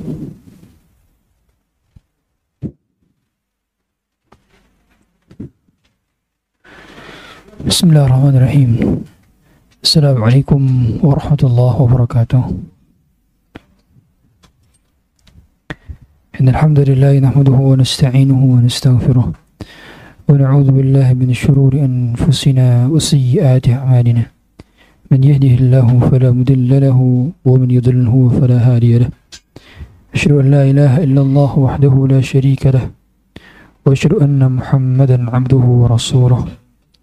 Bismillahirrahmanirrahim. Assalamualaikum warahmatullahi wabarakatuh. Innal hamdalillah nahmaduhu wa nasta'inuhu wa nastaghfiruh wa na'udzu billahi min shururi anfusina wa sayyiati a'malina. Man yahdihillahu fala mudilla lahu wa man yudlilhu fala hadiya lahu. Asyhadu an la ilaha illallah wahdahu la syarika lahu wa asyhadu anna Muhammadan 'abduhu wa rasuluh.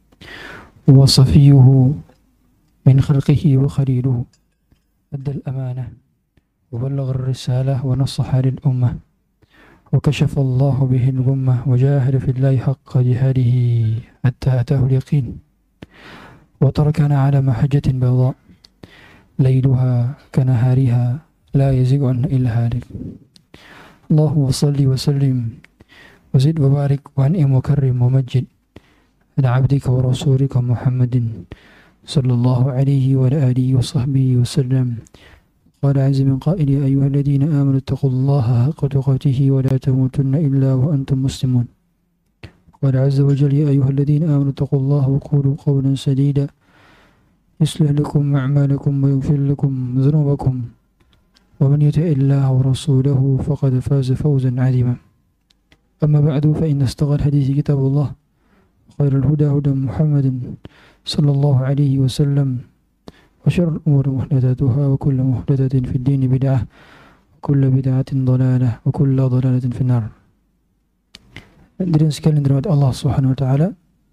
وصفيه من خلقه وخليله أدى الأمانة وبلغ الرسالة ونصح للأمة وكشف الله به الغمة وجاهد في الله حق جهاده حتى أتاه اليقين وتركنا على محجة بيضاء ليلها كنهارها لا يزيغ عنها إلا هالك. اللهم صل وسلم وزد وبارك وأنعم وكرم ومجد على عبدك ورسولك محمد صلى الله عليه وعلى آله وصحبه وسلم. قال عز من قائل: يا أيها الذين آمنوا اتقوا الله حق تقاته ولا تموتن إلا وأنتم مسلمون. قال عز وجل: يا أيها الذين آمنوا اتقوا الله وقولوا قولا سديدا يصلح لكم أعمالكم ويغفر لكم ذنوبكم ومن يطع الله ورسوله فقد فاز فوزا عظيما. أما بعد فإن أصدق الحديث كتاب الله خير الهدى هدى محمد صلى الله عليه وسلم وشر الأمور محدثاتها وكل محدثة في الدين بدعة وكل بدعة ضلالة وكل ضلالة في النار. Hadirin sekalian dirahmati Allah Subhanahu wa taala,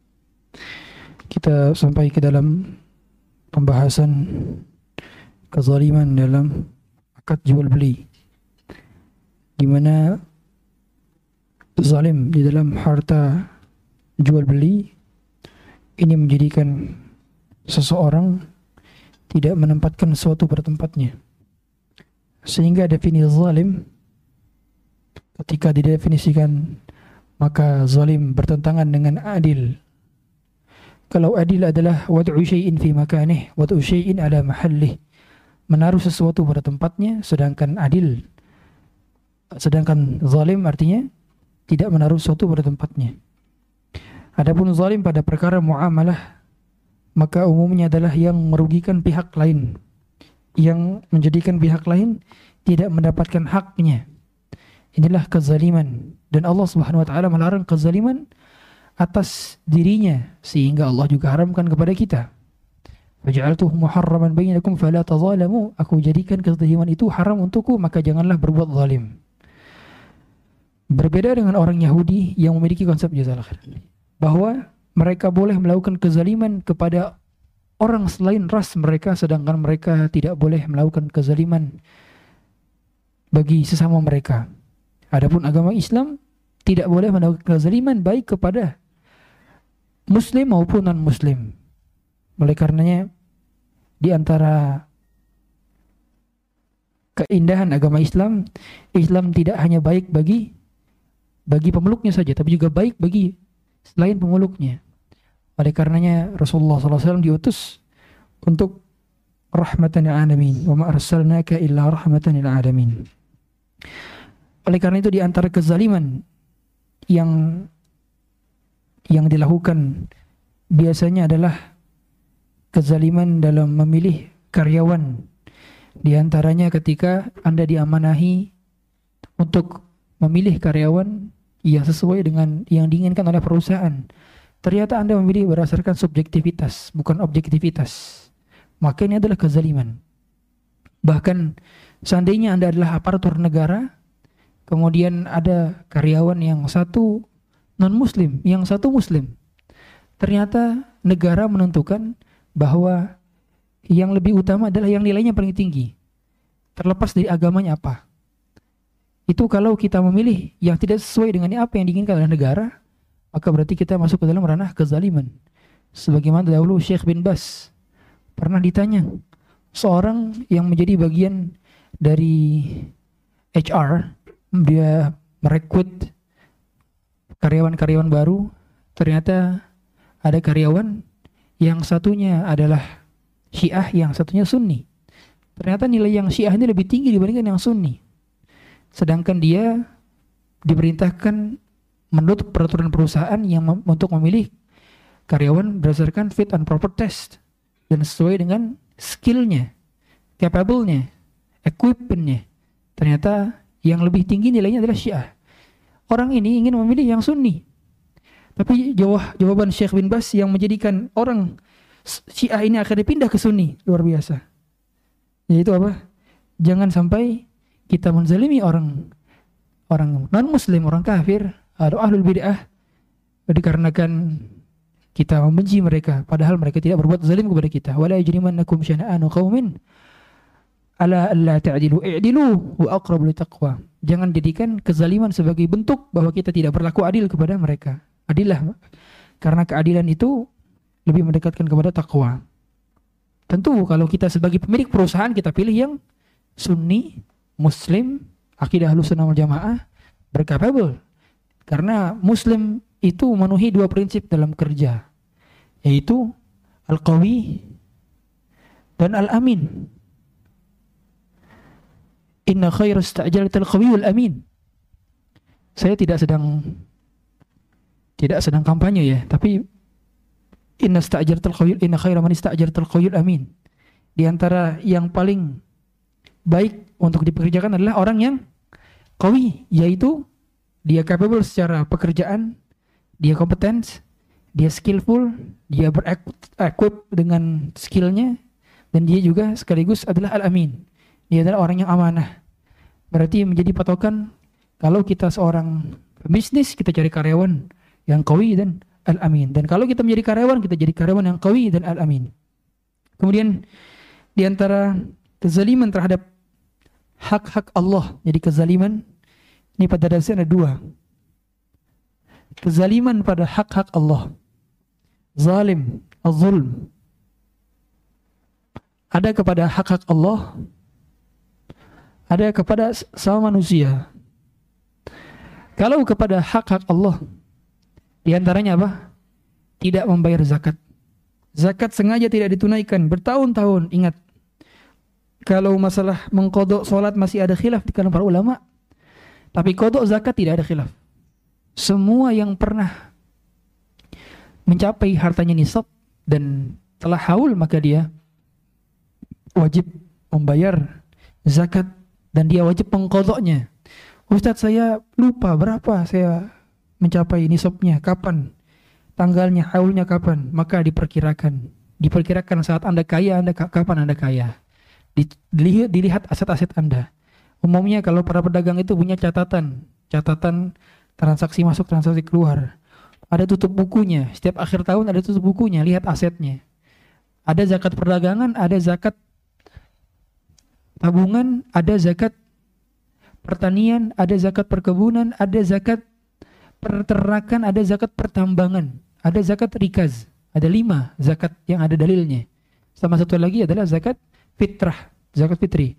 kita sampai ke dalam pembahasan kezaliman dalam akad jual beli, di mana zalim di dalam harta jual beli ini menjadikan seseorang tidak menempatkan sesuatu pada tempatnya, sehingga definisi zalim ketika didefinisikan maka zalim bertentangan dengan adil. Kalau adil adalah wad'u syai'in fi makanih, wad'u syai'in ala mahallih, menaruh sesuatu pada tempatnya, sedangkan zalim artinya tidak menaruh sesuatu pada tempatnya. Adapun zalim pada perkara muamalah, maka umumnya adalah yang merugikan pihak lain, yang menjadikan pihak lain tidak mendapatkan haknya. Inilah kezaliman, dan Allah Subhanahu wa taala melarang kezaliman atas dirinya, sehingga Allah juga haramkan kepada kita. Faj'altuhu muharraman bainakum fala tazalamu, aku jadikan kezaliman itu haram untukku, maka janganlah berbuat zalim. Berbeda dengan orang Yahudi yang memiliki konsep jazal akhir, bahwa mereka boleh melakukan kezaliman kepada orang selain ras mereka, sedangkan mereka tidak boleh melakukan kezaliman bagi sesama mereka. Adapun agama Islam tidak boleh melakukan kezaliman baik kepada muslim maupun non-muslim. Oleh karenanya, di antara keindahan agama Islam, Islam tidak hanya baik bagi pemeluknya saja, tapi juga baik bagi selain pemeluknya. Oleh karenanya Rasulullah SAW diutus untuk rahmatan lil alamin, wa ma arsalnaka illa rahmatan lil alamin. Oleh karena itu, di antara kezaliman yang dilakukan biasanya adalah kezaliman dalam memilih karyawan. Di antaranya ketika Anda diamanahi untuk memilih karyawan yang sesuai dengan yang diinginkan oleh perusahaan, ternyata Anda memilih berdasarkan subjektivitas, bukan objektivitas, maka ini adalah kezaliman. Bahkan seandainya Anda adalah aparatur negara, kemudian ada karyawan yang satu non-muslim, yang satu muslim, ternyata negara menentukan bahwa yang lebih utama adalah yang nilainya paling tinggi, terlepas dari agamanya apa. Itu kalau kita memilih yang tidak sesuai dengan apa yang diinginkan oleh negara, maka berarti kita masuk ke dalam ranah kezaliman. Sebagaimana dahulu Syekh bin Bas pernah ditanya, seorang yang menjadi bagian dari HR, dia merekrut karyawan-karyawan baru, ternyata ada karyawan yang satunya adalah Syiah, yang satunya Sunni. Ternyata nilai yang Syiah ini lebih tinggi dibandingkan yang Sunni. sedangkan dia diperintahkan menurut peraturan perusahaan yang untuk memilih karyawan berdasarkan fit and proper test dan sesuai dengan skillnya, capable-nya, equipment-nya. Ternyata yang lebih tinggi nilainya adalah Syiah. Orang ini ingin memilih yang Sunni, tapi jawaban Syekh bin Baz yang menjadikan orang Syiah ini akan dipindah ke Sunni luar biasa. Yaitu apa? Jangan sampai kita menzalimi orang non-muslim, orang kafir, atau ahlul bid'ah dikarenakan kita membenci mereka padahal mereka tidak berbuat zalim kepada kita. Wala yajrimannakum syana'anu qaumin ala alla ta'dilu i'dilu wa aqrabu littaqwa. Jangan jadikan kezaliman sebagai bentuk bahwa kita tidak berlaku adil kepada mereka. Adillah, karena keadilan itu lebih mendekatkan kepada takwa. Tentu kalau kita sebagai pemilik perusahaan kita pilih yang Sunni, Muslim, akidah Ahlussunnah wal Jamaah, berkapabel. Karena Muslim itu memenuhi dua prinsip dalam kerja, yaitu al-qawi dan al-amin. Inna khairu sta'jalatil qawiyul amin. Saya tidak sedang kampanye ya, tapi inna khaira man ista'jalatil qawiyul amin. Di antara yang paling baik untuk dipekerjakan adalah orang yang qawi, yaitu dia capable secara pekerjaan, dia kompeten, dia skillful, dia berequip dengan skillnya, dan dia juga sekaligus adalah al-amin. Dia adalah orang yang amanah. Berarti menjadi patokan kalau kita seorang bisnis, kita cari karyawan yang qawi dan al-amin. Dan kalau kita menjadi karyawan, kita jadi karyawan yang qawi dan al-amin. Kemudian di antara kezaliman terhadap hak-hak Allah, jadi kezaliman ini pada dasarnya ada dua. Kezaliman pada hak-hak Allah, zalim, az-zulm. Ada kepada hak-hak Allah, ada kepada sama manusia. Kalau kepada hak-hak Allah, di antaranya apa? Tidak membayar zakat. Zakat sengaja tidak ditunaikan bertahun-tahun. Ingat, kalau masalah mengqadha salat masih ada khilaf di kalangan para ulama, tapi qadha zakat tidak ada khilaf. Semua yang pernah mencapai hartanya nisab dan telah haul, maka dia wajib membayar zakat dan dia wajib mengqadhanya. Ustadz, saya lupa berapa saya mencapai nisabnya, kapan tanggalnya, haulnya kapan? Maka diperkirakan saat Anda kaya, kapan Anda kaya. Dilihat aset-aset Anda. Umumnya kalau para pedagang itu punya catatan transaksi masuk, transaksi keluar. Ada tutup bukunya. Setiap akhir tahun ada tutup bukunya, lihat asetnya. Ada zakat perdagangan, ada zakat tabungan, ada zakat pertanian, ada zakat perkebunan, ada zakat peternakan, ada zakat pertambangan, ada zakat rikaz. Ada 5 zakat yang ada dalilnya. Sama satu lagi adalah zakat fitrah, zakat fitri.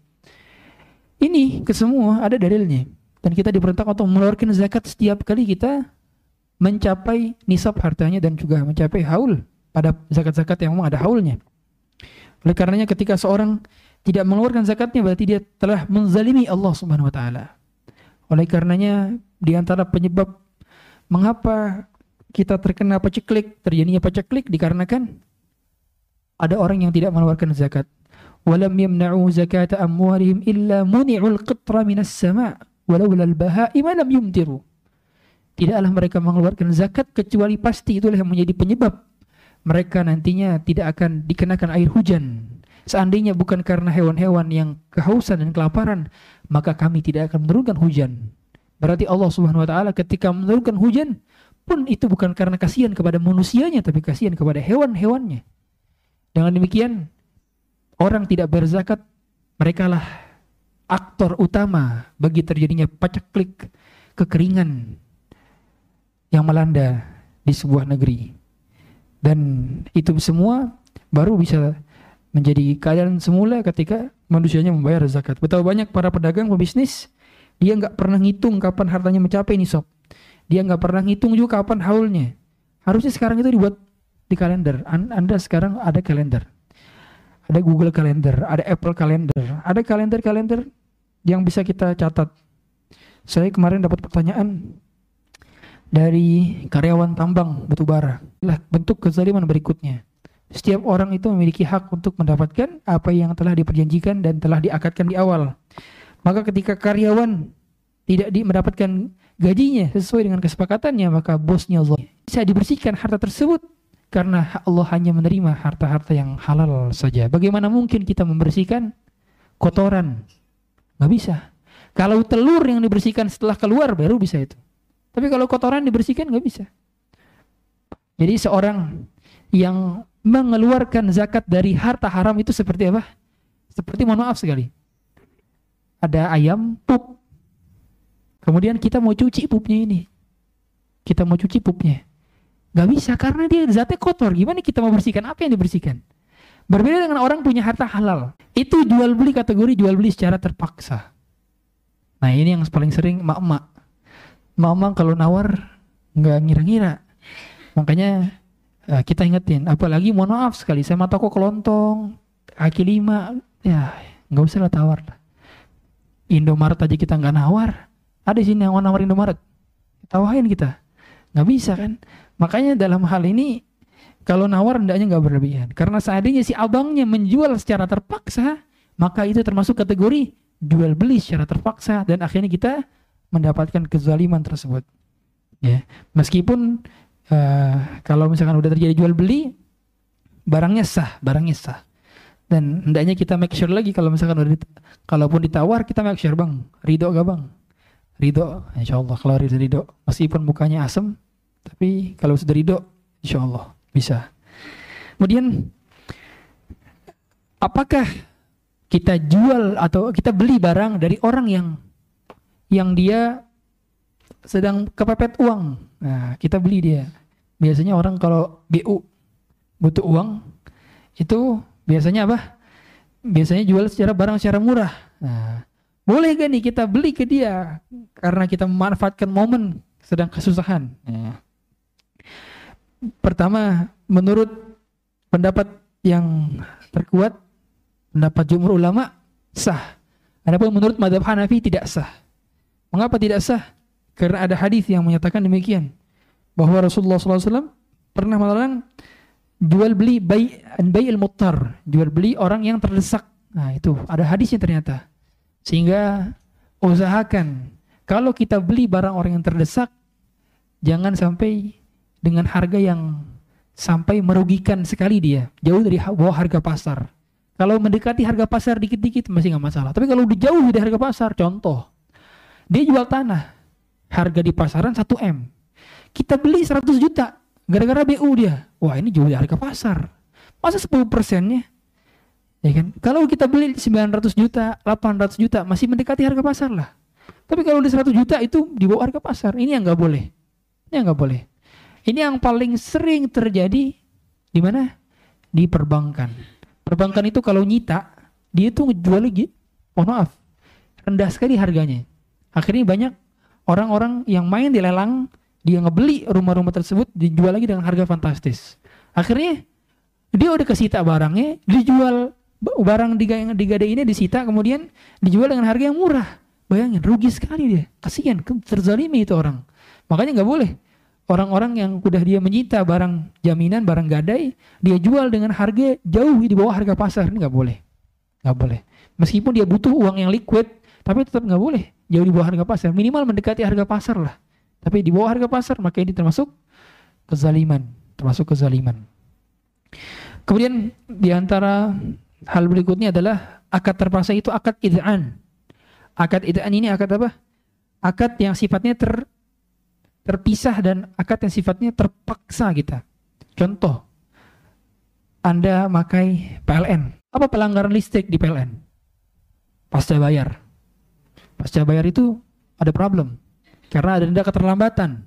Ini kesemua ada dalilnya. Dan kita diperintahkan untuk mengeluarkan zakat setiap kali kita mencapai nisab hartanya dan juga mencapai haul pada zakat-zakat yang memang ada haulnya. Oleh karenanya ketika seorang tidak mengeluarkan zakatnya, berarti dia telah menzalimi Allah Subhanahu wa taala. Oleh karenanya di antara penyebab mengapa kita terkena paceklik, terjadinya paceklik, dikarenakan ada orang yang tidak mengeluarkan zakat. Walam yamna'u zakata amwalihim illa muni'ul qitra minas sama' walaula al-baha'ima lam yumtiru. Tidaklah mereka mengeluarkan zakat kecuali pasti itulah yang menjadi penyebab mereka nantinya tidak akan dikenakan air hujan. Seandainya bukan karena hewan-hewan yang kehausan dan kelaparan, maka kami tidak akan menurunkan hujan. Berarti Allah Subhanahu wa taala ketika menurunkan hujan pun itu bukan karena kasihan kepada manusianya, tapi kasihan kepada hewan-hewannya. Dengan demikian, orang tidak berzakat, merekalah aktor utama bagi terjadinya paceklik, kekeringan yang melanda di sebuah negeri. Dan itu semua baru bisa menjadi keadaan semula ketika manusianya membayar zakat. Betapa banyak para pedagang, pebisnis, dia nggak pernah ngitung kapan hartanya mencapai nisab. Dia nggak pernah ngitung juga kapan haulnya. Harusnya sekarang itu dibuat di kalender. Anda sekarang ada kalender. Ada Google Calendar, ada Apple Calendar, ada kalender-kalender yang bisa kita catat Saya kemarin dapat pertanyaan dari karyawan tambang batubara. Lah bentuk kezaliman berikutnya. Setiap orang itu memiliki hak untuk mendapatkan apa yang telah diperjanjikan dan telah diakadkan di awal. Maka ketika karyawan tidak mendapatkan gajinya sesuai dengan kesepakatannya, maka bosnya zalim. Bisa dibersihkan harta tersebut karena Allah hanya menerima harta-harta yang halal saja. Bagaimana mungkin kita membersihkan kotoran? Nggak bisa. Kalau telur yang dibersihkan setelah keluar baru bisa itu. Tapi kalau kotoran dibersihkan nggak bisa. Jadi seorang yang mengeluarkan zakat dari harta haram itu seperti apa? Seperti, mohon maaf sekali, ada ayam pup. Kemudian kita mau cuci pupnya ini. Kita mau cuci pupnya. Gak bisa karena dia zatnya kotor. Gimana kita mau bersihkan? Apa yang dibersihkan? Berbeda dengan orang punya harta halal. Itu jual beli, kategori jual beli secara terpaksa. Nah ini yang paling sering mak-mak. Mak-mak kalau nawar gak ngira-ngira. Makanya kita ingetin. Apalagi mohon maaf sekali, sama toko kelontong, kaki lima, ya gak usah lah tawar lah. Indomaret aja kita gak nawar. Ada sini yang mau nawar Indomaret. Tawain kita. Gak bisa kan? Makanya dalam hal ini kalau nawar hendaknya nggak berlebihan. Karena seandainya si abangnya menjual secara terpaksa, maka itu termasuk kategori jual beli secara terpaksa dan akhirnya kita mendapatkan kezaliman tersebut. Ya, meskipun kalau misalkan udah terjadi jual beli, barangnya sah. Dan hendaknya kita make sure lagi kalau misalkan udah kalaupun ditawar kita make sure, bang, ridho gak bang? Ridho, insya Allah. Kalau ridho, meskipun mukanya asem, tapi kalau sudah ridho, insya Allah bisa. Kemudian, apakah kita jual atau kita beli barang dari orang yang dia sedang kepepet uang? Nah, kita beli dia. Biasanya orang kalau BU butuh uang, itu biasanya apa? Biasanya jual barang secara murah. Nah, boleh gak nih kita beli ke dia karena kita memanfaatkan momen sedang kesusahan? Nah, pertama, menurut pendapat yang terkuat, pendapat jumhur ulama, sah. Adapun menurut mazhab Hanafi tidak sah. Mengapa tidak sah? Karena ada hadis yang menyatakan demikian, bahwa Rasulullah SAW pernah melarang jual beli bai'il muttar, jual beli orang yang terdesak. Nah itu ada hadisnya ternyata. Sehingga usahakan kalau kita beli barang orang yang terdesak, jangan sampai dengan harga yang sampai merugikan sekali dia, jauh dari bawah harga pasar. Kalau mendekati harga pasar dikit-dikit masih nggak masalah. Tapi kalau udah jauh dari harga pasar, contoh, dia jual tanah, harga di pasaran 1 M, kita beli 100 juta, gara-gara BU dia, wah ini jauh dari harga pasar, masa 10%-nya, ya kan? Kalau kita beli 900 juta, 800 juta, masih mendekati harga pasar lah. Tapi kalau di 100 juta itu di bawah harga pasar, ini yang nggak boleh, ini yang nggak boleh. Ini yang paling sering terjadi di mana? Di perbankan. Perbankan itu kalau nyita, dia tuh ngejual lagi, mohon maaf, rendah sekali harganya. Akhirnya banyak orang-orang yang main di lelang, dia ngebeli rumah-rumah tersebut, dijual lagi dengan harga fantastis. Akhirnya dia udah kesita barangnya, dijual barang digadainya disita, kemudian dijual dengan harga yang murah. Bayangin, rugi sekali dia. Kasihan, terzalimi itu orang. Makanya nggak boleh. Orang-orang yang udah dia menyita barang jaminan, barang gadai, dia jual dengan harga jauh di bawah harga pasar. Ini nggak boleh. Nggak boleh. Meskipun dia butuh uang yang liquid, tapi tetap nggak boleh jauh di bawah harga pasar. Minimal mendekati harga pasar lah. Tapi di bawah harga pasar, maka ini termasuk kezaliman. Kemudian di antara hal berikutnya adalah akad terpaksa itu akad id'an. Akad id'an ini akad apa? Akad yang sifatnya terpisah dan akad yang sifatnya terpaksa kita. Contoh, Anda pakai PLN. Apa pelanggaran listrik di PLN? Pasca bayar. Pasca bayar itu ada problem. Karena ada keterlambatan.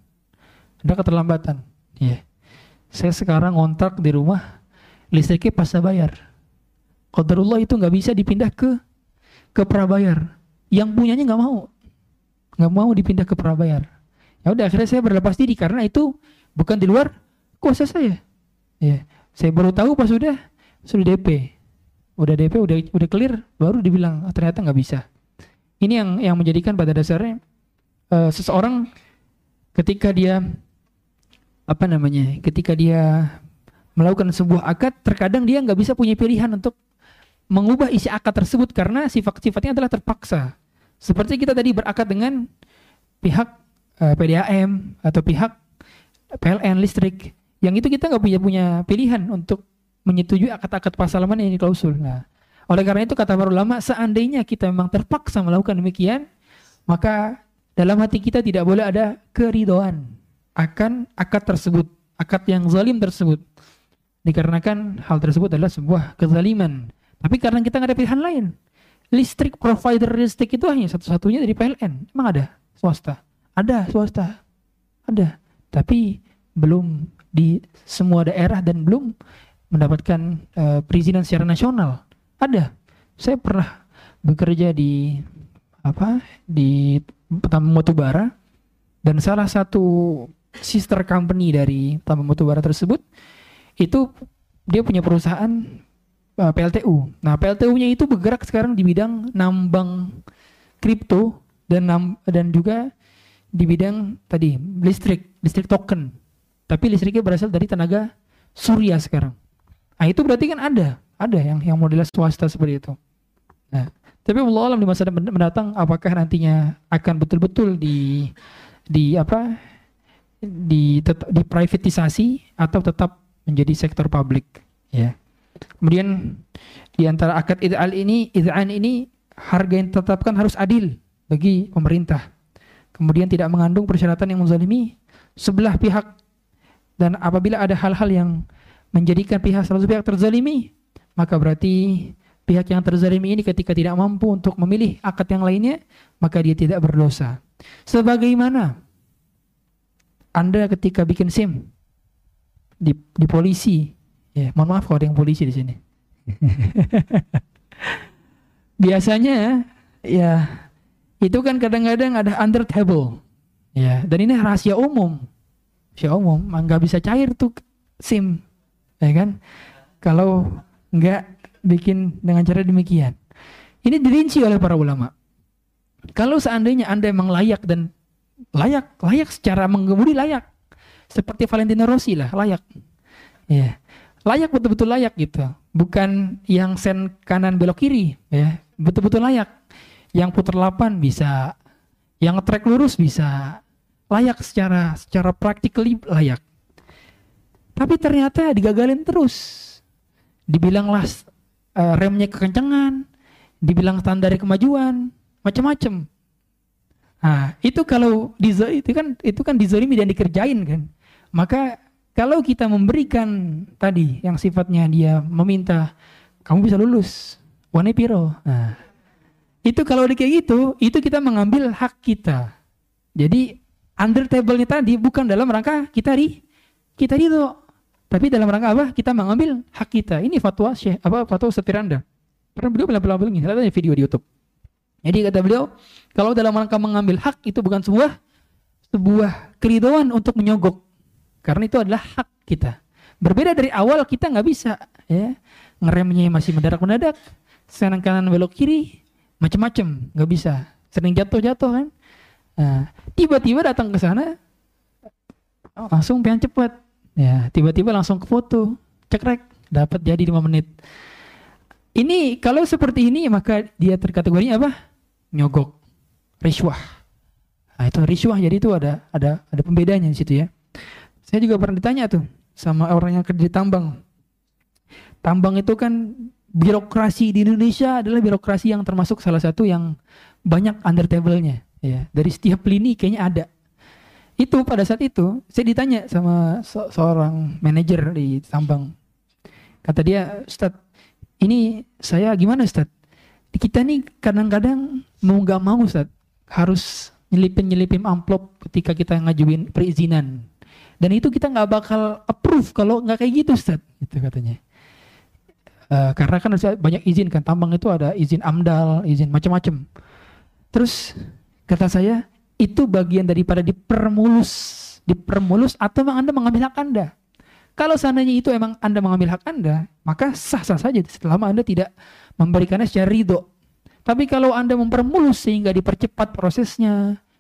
Yeah. Saya sekarang ngontrak di rumah, listriknya pasca bayar. Qadarullah itu nggak bisa dipindah ke prabayar. Yang punyanya nggak mau dipindah ke prabayar. Ya udah, akhirnya saya berlepas diri karena itu bukan di luar kuasa saya. Ya, saya baru tahu pas sudah DP. Udah DP, udah clear, baru dibilang ternyata nggak bisa. Ini yang menjadikan pada dasarnya seseorang ketika dia ketika dia melakukan sebuah akad, terkadang dia nggak bisa punya pilihan untuk mengubah isi akad tersebut karena sifat-sifatnya adalah terpaksa. Seperti kita tadi berakad dengan pihak PDAM atau pihak PLN listrik, yang itu kita nggak punya pilihan untuk menyetujui akad-akad pasal mana yang klausul. Nah, oleh karena itu kata para ulama, seandainya kita memang terpaksa melakukan demikian, maka dalam hati kita tidak boleh ada keridhaan akan akad tersebut, akad yang zalim tersebut, dikarenakan hal tersebut adalah sebuah kezaliman. Tapi karena kita nggak ada pilihan lain, listrik provider listrik itu hanya satu-satunya dari PLN. Emang ada swasta? Ada swasta, ada, tapi belum di semua daerah dan belum mendapatkan perizinan secara nasional. Ada. Saya pernah bekerja di tambang batubara, dan salah satu sister company dari tambang batubara tersebut itu dia punya perusahaan PLTU. Nah, PLTU-nya itu bergerak sekarang di bidang nambang kripto dan juga di bidang tadi listrik token. Tapi listriknya berasal dari tenaga surya sekarang. Nah, itu berarti kan ada yang modelnya swasta seperti itu. Nah, tapi wallahu alam di masa mendatang apakah nantinya akan betul-betul diprivatisasi atau tetap menjadi sektor publik, ya. Kemudian di antara akad id'an ini harga yang ditetapkan harus adil bagi pemerintah. Kemudian tidak mengandung persyaratan yang menzalimi sebelah pihak, dan apabila ada hal-hal yang menjadikan salah satu pihak terzalimi, maka berarti pihak yang terzalimi ini ketika tidak mampu untuk memilih akad yang lainnya, maka dia tidak berdosa. Sebagaimana Anda ketika bikin SIM di polisi, ya, mohon maaf kalau ada yang polisi di sini. Biasanya ya itu kan kadang-kadang ada under table, ya, dan ini rahasia umum, nggak bisa cair tuh SIM, ya kan? Kalau nggak bikin dengan cara demikian. Ini dirinci oleh para ulama. Kalau seandainya Anda memang layak dan layak secara mengemudi layak, seperti Valentino Rossi lah, layak, ya, layak, betul-betul layak gitu, bukan yang sen kanan belok kiri, ya, betul-betul layak, yang putar 8 bisa, yang trek lurus bisa, layak secara practically layak. Tapi ternyata digagalin terus, dibilanglah remnya kekencangan, dibilang standar kemajuan, macam-macam. Nah, itu kalau itu kan dizalimi dan dikerjain kan. Maka kalau kita memberikan tadi yang sifatnya dia meminta kamu bisa lulus, wane piro. Nah, itu kalau kayak gitu, itu kita mengambil hak kita. Jadi under table-nya tadi bukan dalam rangka kita ridho, tapi dalam rangka apa? Kita mengambil hak kita. Ini fatwa fatwa Setiranda. Karena beliau bilang begini, ada video di YouTube. Jadi kata beliau, kalau dalam rangka mengambil hak itu bukan sebuah keridhaan untuk menyogok, karena itu adalah hak kita. Berbeda dari awal, kita nggak bisa, ya, ngeremnya masih mendadak, senang kanan belok kiri, macam-macam, nggak bisa. Sering jatuh kan. Nah, tiba-tiba datang ke sana, langsung pengen cepat, ya, tiba-tiba langsung ke foto, cekrek, dapat jadi 5 menit. Ini kalau seperti ini maka dia terkategorinya apa? Nyogok, riswah. Nah, itu riswah, jadi itu ada pembedanya di situ, ya. Saya juga pernah ditanya tuh sama orang yang kerja di tambang. Tambang itu kan birokrasi di Indonesia adalah birokrasi yang termasuk salah satu yang banyak under table-nya, ya. Dari setiap lini kayaknya ada. Itu pada saat itu saya ditanya sama seorang manajer di tambang. Kata dia, "Ustadz, ini saya gimana Ustadz? Kita nih kadang-kadang mau nggak mau Ustadz harus nyelipin amplop ketika kita ngajuin perizinan. Dan itu kita nggak bakal approve kalau nggak kayak gitu Ustadz," gitu katanya. Karena kan banyak izin kan, tambang itu ada izin AMDAL, izin macam-macam. Terus kata saya, itu bagian daripada dipermulus atau memang Anda mengambil hak Anda. Kalau seandainya itu emang Anda mengambil hak Anda, maka sah-sah saja selama Anda tidak memberikannya secara ridho. Tapi kalau Anda mempermulus sehingga dipercepat prosesnya,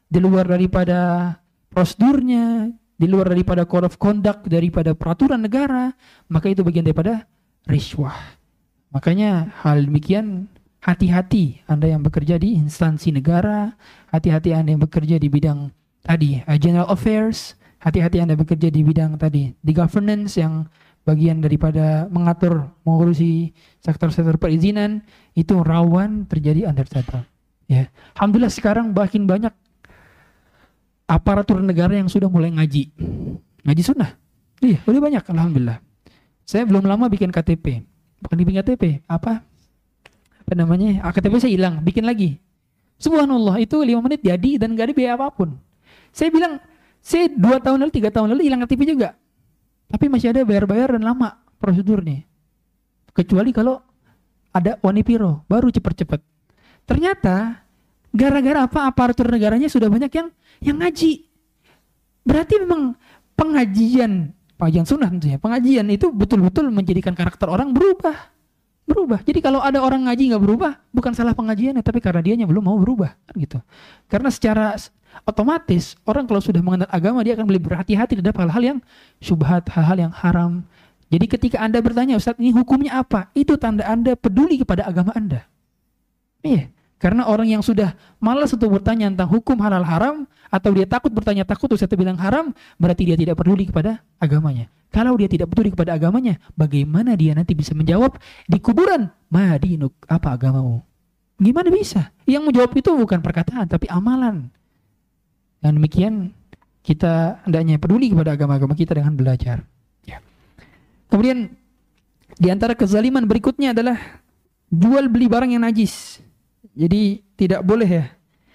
di luar daripada prosedurnya, di luar daripada code of conduct, daripada peraturan negara, maka itu bagian daripada riswah. Makanya hal demikian, hati-hati Anda yang bekerja di instansi negara, hati-hati Anda yang bekerja di bidang tadi general affairs, hati-hati Anda bekerja di bidang tadi di governance yang bagian daripada mengurusi sektor-sektor perizinan, itu rawan terjadi understatement. Ya, alhamdulillah sekarang makin banyak aparatur negara yang sudah mulai ngaji sunnah. Iya, udah banyak, alhamdulillah. Saya belum lama bikin KTP, bukan bikin KTP, apa namanya? KTP saya hilang, bikin lagi. Subhanallah, itu 5 menit jadi dan gak ada biaya apapun. Saya bilang, saya 2 tahun lalu, 3 tahun lalu hilang KTP juga. Tapi masih ada bayar-bayar dan lama prosedurnya. Kecuali kalau ada Wanipiro, baru cepat-cepat. Ternyata gara-gara apa? Aparatur negaranya sudah banyak yang ngaji. Berarti memang pengajian sunnah tentunya. Pengajian itu betul-betul menjadikan karakter orang berubah. Jadi kalau ada orang ngaji nggak berubah, bukan salah pengajiannya, tapi karena dianya belum mau berubah, kan gitu. Karena secara otomatis orang kalau sudah mengenal agama, dia akan lebih berhati-hati terhadap hal-hal yang syubhat, hal-hal yang haram. Jadi ketika Anda bertanya, Ustaz, ini hukumnya apa? Itu tanda Anda peduli kepada agama Anda. Iya. Karena orang yang sudah malas untuk bertanya tentang hukum halal haram, atau dia takut bertanya, takut Ustaz bilang haram, berarti dia tidak peduli kepada agamanya. Kalau dia tidak peduli kepada agamanya, bagaimana dia nanti bisa menjawab di kuburan, madinuk, apa agamamu? Gimana bisa? Yang menjawab itu bukan perkataan, tapi amalan. Dan demikian kita hendaknya peduli kepada agama-agama kita dengan belajar. Ya. Kemudian di antara kezaliman berikutnya adalah jual beli barang yang najis. Jadi tidak boleh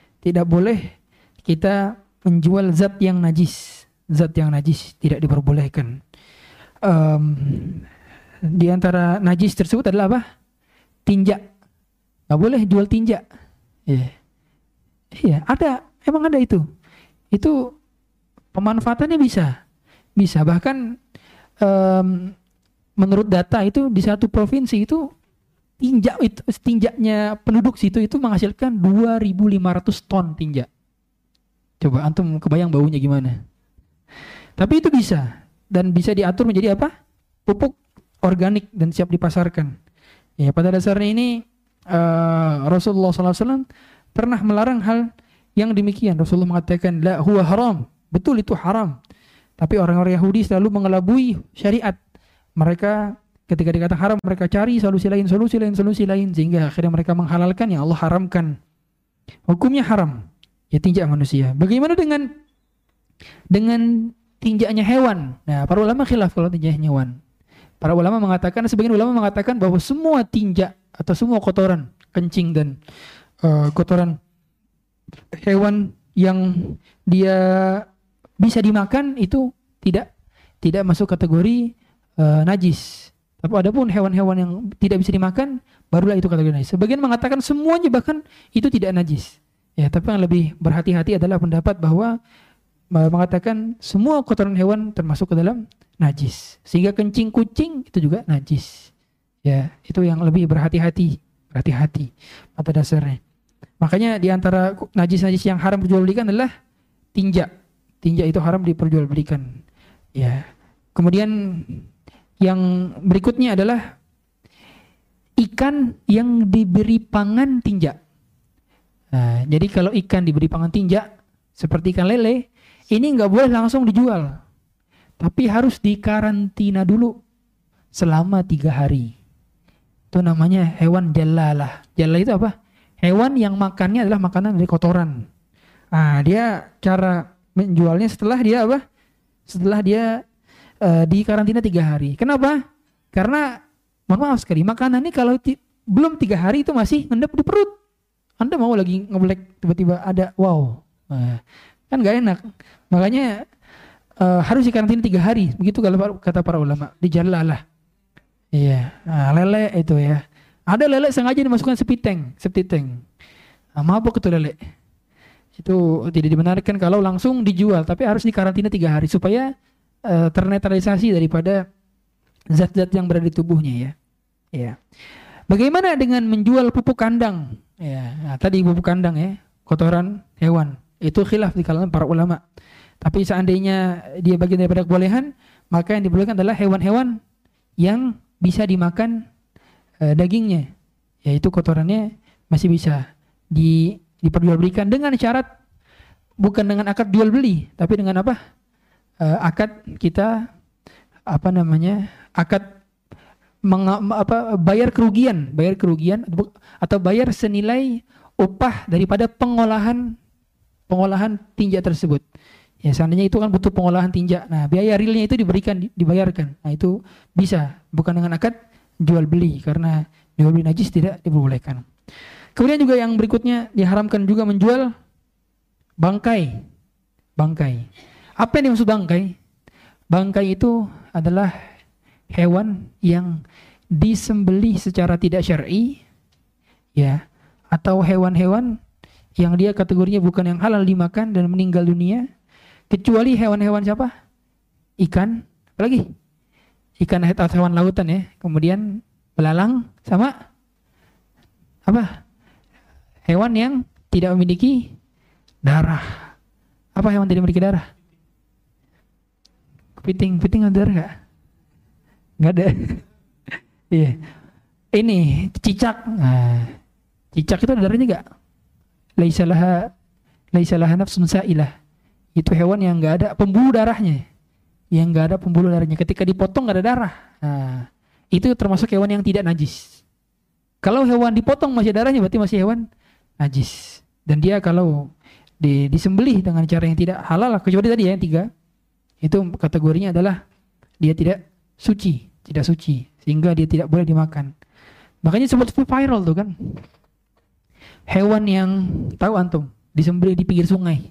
kita menjual zat yang najis tidak diperbolehkan. Di antara najis tersebut adalah apa? Tinja. Nggak boleh jual tinja. Iya, emang ada itu. Itu pemanfaatannya bisa bahkan menurut data itu di satu provinsi itu tinjaknya penduduk situ itu menghasilkan 2.500 ton tinja. Coba antum kebayang baunya gimana? Tapi itu bisa, dan bisa diatur menjadi apa? Pupuk organik dan siap dipasarkan. Ya, pada dasarnya ini Rasulullah SAW pernah melarang hal yang demikian. Rasulullah mengatakan, la huwa haram. Betul, itu haram. Tapi orang-orang Yahudi selalu mengelabui syariat. Mereka ketika dikatakan haram, mereka cari solusi lain, sehingga akhirnya mereka menghalalkan yang Allah haramkan. Hukumnya haram. Ya, tinjak manusia. Bagaimana dengan tinjaknya hewan? Nah, para ulama khilaf kalau tinjaknya hewan. Para ulama mengatakan, sebagian ulama mengatakan bahwa semua tinjak atau semua kotoran, kencing dan kotoran hewan yang dia bisa dimakan itu tidak masuk kategori najis. Tapi adapun hewan-hewan yang tidak bisa dimakan, barulah itu kategori najis. Sebagian mengatakan semuanya bahkan itu tidak najis. Ya, tapi yang lebih berhati-hati adalah pendapat bahwa mengatakan semua kotoran hewan termasuk ke dalam najis. Sehingga kencing kucing itu juga najis. Ya, itu yang lebih berhati-hati pada dasarnya. Makanya di antara najis-najis yang haram diperjualbelikan adalah tinja. Tinja itu haram diperjualbelikan. Ya. Kemudian yang berikutnya adalah ikan yang diberi pangan tinja. Nah, jadi kalau ikan diberi pangan tinja seperti ikan lele, ini nggak boleh langsung dijual, tapi harus dikarantina dulu selama 3 hari. Itu namanya hewan jalalah. Jalalah itu apa? Hewan yang makannya adalah makanan dari kotoran. Nah, dia cara menjualnya setelah dia apa? Setelah dia dikarantina 3 hari. Kenapa? Karena mohon maaf sekali, makanan ini kalau belum 3 hari itu masih ngendap di perut. Anda mau lagi ngeblek tiba-tiba ada wow, kan gak enak. Makanya harus dikarantina 3 hari. Begitu kalau kata para ulama. Dijalalah. Iya. Nah, lele itu ya. Ada lele sengaja dimasukkan septic tank. Nah, mabuk itu lele. Itu tidak dibenarkan kalau langsung dijual, tapi harus dikarantina 3 hari supaya ternetralisasi daripada zat-zat yang berada di tubuhnya ya. Ya. Bagaimana dengan menjual pupuk kandang? Ya, nah, tadi pupuk kandang ya, kotoran hewan. Itu khilaf di kalangan para ulama. Tapi seandainya dia bagian daripada kebolehan, maka yang dibolehkan adalah hewan-hewan yang bisa dimakan dagingnya, yaitu kotorannya masih bisa diperjualbelikan dengan syarat bukan dengan akad jual beli, tapi dengan apa? Akad kita akad bayar kerugian atau bayar senilai upah daripada pengolahan tinja tersebut. Ya seandainya itu kan butuh pengolahan tinja. Nah, biaya realnya itu dibayarkan. Nah, itu bisa bukan dengan akad jual beli karena jual beli najis tidak diperbolehkan. Kemudian juga yang berikutnya diharamkan juga menjual bangkai. Apa yang dimaksud bangkai? Bangkai itu adalah hewan yang disembelih secara tidak syar'i, ya, atau hewan-hewan yang dia kategorinya bukan yang halal dimakan dan meninggal dunia, kecuali hewan-hewan siapa? Ikan, apalagi? Ikan atau hewan lautan ya. Kemudian belalang sama apa? Hewan yang tidak memiliki darah. Apa hewan tidak memiliki darah? Kepiting ada darah nggak? Nggak ada. Iya. Ini cicak. Nah, cicak itu ada darahnya nggak? Laisa laha nafsun sa'ilah. Itu hewan yang nggak ada pembuluh darahnya. Ketika dipotong nggak ada darah. Nah, itu termasuk hewan yang tidak najis. Kalau hewan dipotong masih ada darahnya berarti masih hewan najis. Dan dia kalau disembelih dengan cara yang tidak halal, kecuali tadi ya yang 3, itu kategorinya adalah dia tidak suci, sehingga dia tidak boleh dimakan. Makanya sempat viral tuh kan. Hewan yang tahu antum disembelih di pinggir sungai.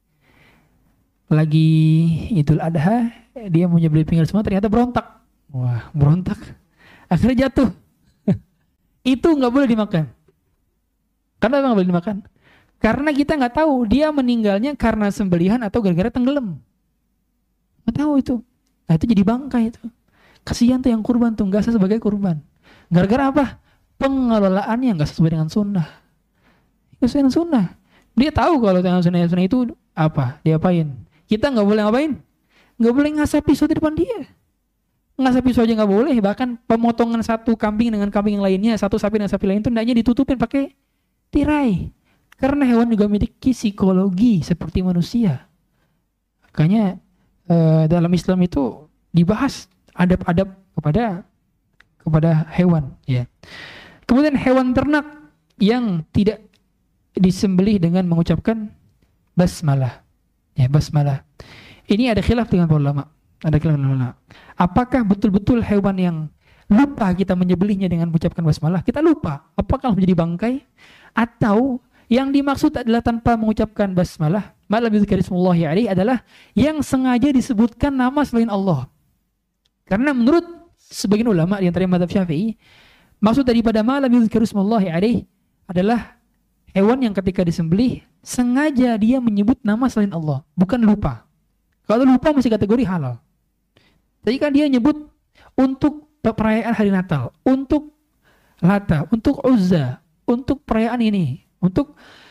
Lagi Idul Adha, dia mau nyembelih pinggir sungai ternyata berontak. Wah, berontak. Akhirnya jatuh. Itu nggak boleh dimakan. Karena nggak boleh dimakan. Karena kita nggak tahu dia meninggalnya karena sembelihan atau gara-gara tenggelam. Nggak tahu itu. Nah itu jadi bangkai itu. Kasihan tuh yang kurban tuh, nggak sebagai kurban. Gara-gara apa? Pengelolaannya nggak sesuai dengan sunnah. Nggak sesuai dengan sunnah. Dia tahu kalau dengan sunnah itu apa? Diapain? Kita nggak boleh ngapain? Nggak boleh ngasah pisau di depan dia. Ngasah pisau aja nggak boleh. Bahkan pemotongan satu kambing dengan kambing yang lainnya, satu sapi dengan sapi lain itu hendaknya ditutupin pakai tirai. Karena hewan juga memiliki psikologi seperti manusia. Makanya dalam Islam itu dibahas adab-adab kepada hewan. Ya. Kemudian hewan ternak yang tidak disembelih dengan mengucapkan basmalah. Ya, basmalah. Ini ada khilaf dengan para ulama. Apakah betul-betul hewan yang lupa kita menyembelihnya dengan mengucapkan basmalah, kita lupa, apakah menjadi bangkai? Atau yang dimaksud adalah tanpa mengucapkan basmalah, malam yuzkarismullahi alaihi adalah yang sengaja disebutkan nama selain Allah. Karena menurut sebagian ulama di antara mazhab Syafi'i, maksud daripada malam yuzkarismullahi alaihi adalah hewan yang ketika disembelih sengaja dia menyebut nama selain Allah, bukan lupa. Kalau lupa masih kategori halal. Jadi kan dia nyebut untuk perayaan hari Natal, untuk Lata, untuk Uzza, untuk perayaan ini, untuk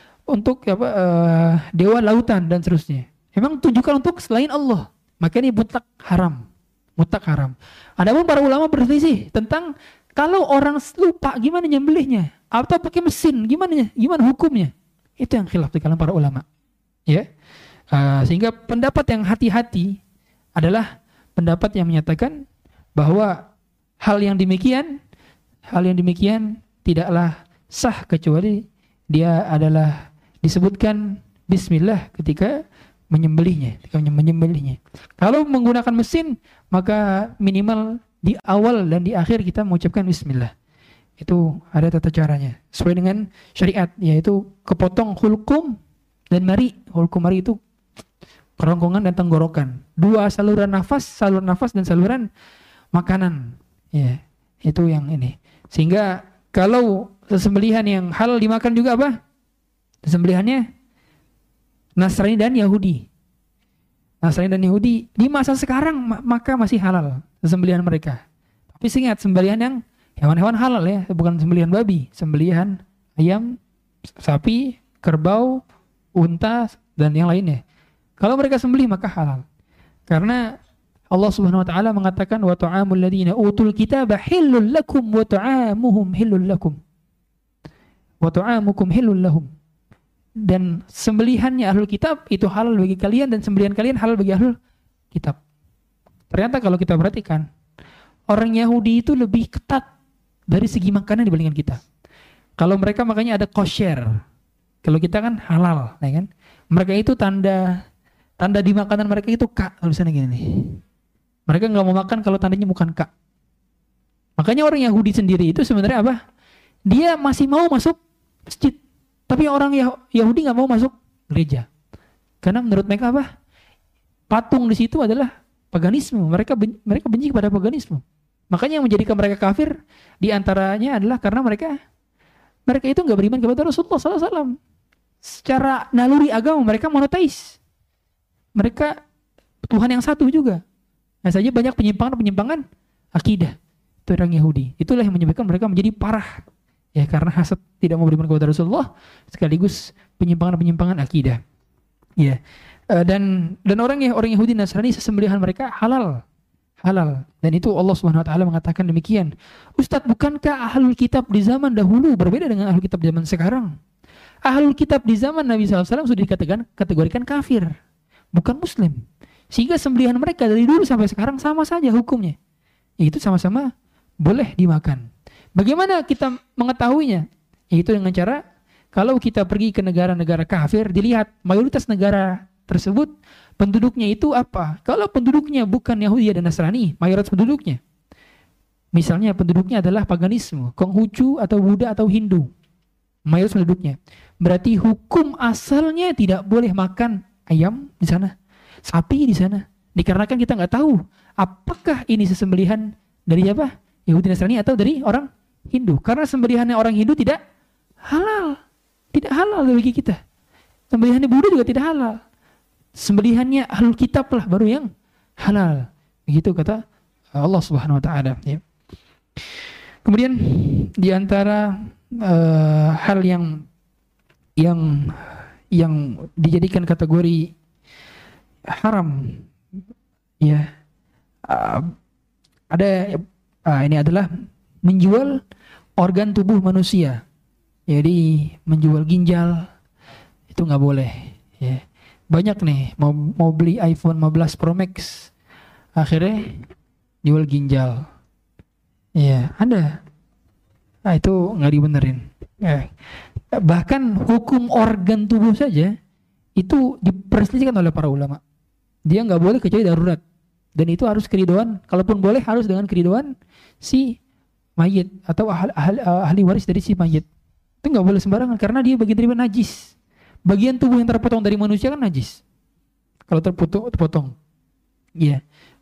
dewa lautan dan seterusnya. Memang tunjukkan untuk selain Allah. Maka ini mutlak haram. Adapun para ulama berselisih tentang kalau orang lupa gimana nyembelihnya, atau pakai mesin gimana hukumnya. Itu yang khilaf di kalangan para ulama. Ya. Sehingga pendapat yang hati-hati adalah pendapat yang menyatakan bahwa hal yang demikian tidaklah sah kecuali dia adalah disebutkan bismillah ketika menyembelihnya. Kalau menggunakan mesin, maka minimal di awal dan di akhir kita mengucapkan bismillah. Itu ada tata caranya sesuai dengan syariat, yaitu kepotong hulkum dan mari. Hulkum mari itu kerongkongan dan tenggorokan. 2 saluran nafas dan saluran makanan. Ya, itu yang ini. Sehingga kalau sesembelihan yang halal dimakan juga apa? Sesembelihannya Nasrani dan Yahudi. Di masa sekarang maka masih halal sesembelihan mereka. Tapi ingat, sembelihan yang hewan-hewan halal ya, bukan sembelihan babi, sembelihan ayam, sapi, kerbau, unta, dan yang lainnya. Kalau mereka sembelih maka halal. Karena Allah Subhanahu wa taala mengatakan wa ta'amul ladzina utul kitaba hillul lakum wa ta'amuhum hillul lakum. Wa ta'amukum hillul lahum. Dan sembelihannya ahlul kitab itu halal bagi kalian dan sembelihan kalian halal bagi ahlul kitab. Ternyata kalau kita perhatikan, orang Yahudi itu lebih ketat dari segi makanan dibandingkan kita. Kalau mereka makanya ada kosher. Kalau kita kan halal, ya kan? Mereka itu tanda di makanan mereka itu K, tulisannya gini nih. Mereka nggak mau makan kalau tandanya bukan K. Makanya orang Yahudi sendiri itu sebenarnya apa? Dia masih mau masuk masjid. Tapi orang Yahudi nggak mau masuk gereja. Karena menurut mereka apa? Patung di situ adalah paganisme. Mereka benci kepada paganisme. Makanya yang menjadikan mereka kafir diantaranya adalah karena mereka itu nggak beriman kepada Rasulullah SAW. Secara naluri agama mereka monoteis. Mereka Tuhan yang satu juga. Nah saja banyak penyimpangan akidah. Itu orang Yahudi. Itulah yang menyebabkan mereka menjadi parah. Ya karena hasad tidak mau beriman kepada Rasulullah sekaligus penyimpangan akidah. Ya. Dan orang Yahudi Nasrani sesembelihan mereka halal. Dan itu Allah Subhanahu wa taala mengatakan demikian. Ustadz, bukankah ahlul kitab di zaman dahulu berbeda dengan ahlul kitab zaman sekarang? Ahlul kitab di zaman Nabi SAW sudah dikategorikan kafir, bukan muslim. Sehingga sembelihan mereka dari dulu sampai sekarang sama saja hukumnya. Yaitu sama-sama boleh dimakan. Bagaimana kita mengetahuinya? Yaitu dengan cara kalau kita pergi ke negara-negara kafir, dilihat mayoritas negara tersebut penduduknya itu apa? Kalau penduduknya bukan Yahudi dan Nasrani, mayoritas penduduknya, misalnya penduduknya adalah paganisme, Konghucu atau Buddha atau Hindu, mayoritas penduduknya, berarti hukum asalnya tidak boleh makan ayam di sana, sapi di sana, dikarenakan kita nggak tahu apakah ini sesembelihan dari apa? Yahudi Nasrani atau dari orang Hindu. Karena sembelihannya orang Hindu tidak halal bagi kita. Sembelihannya Buddha juga tidak halal. Sembelihannya ahlul kitab lah baru yang halal. Begitu kata Allah Subhanahu wa taala, ya. Kemudian di antara hal yang dijadikan kategori haram, ya, ini adalah menjual organ tubuh manusia. Jadi menjual ginjal itu nggak boleh, ya. Banyak nih mau beli iPhone 15 Pro Max, akhirnya jual ginjal. Ya, ada. Nah, itu nggak dibenerin. Ya. Bahkan hukum organ tubuh saja itu diperselisihkan oleh para ulama. Dia nggak boleh kecuali darurat. Dan itu harus keridhaan. Kalaupun boleh harus dengan keridhaan si mayit atau ahli waris dari si mayit. Itu nggak boleh sembarangan karena dia bagian dari najis. Bagian tubuh yang terpotong dari manusia kan najis. Kalau terpotong. Iya.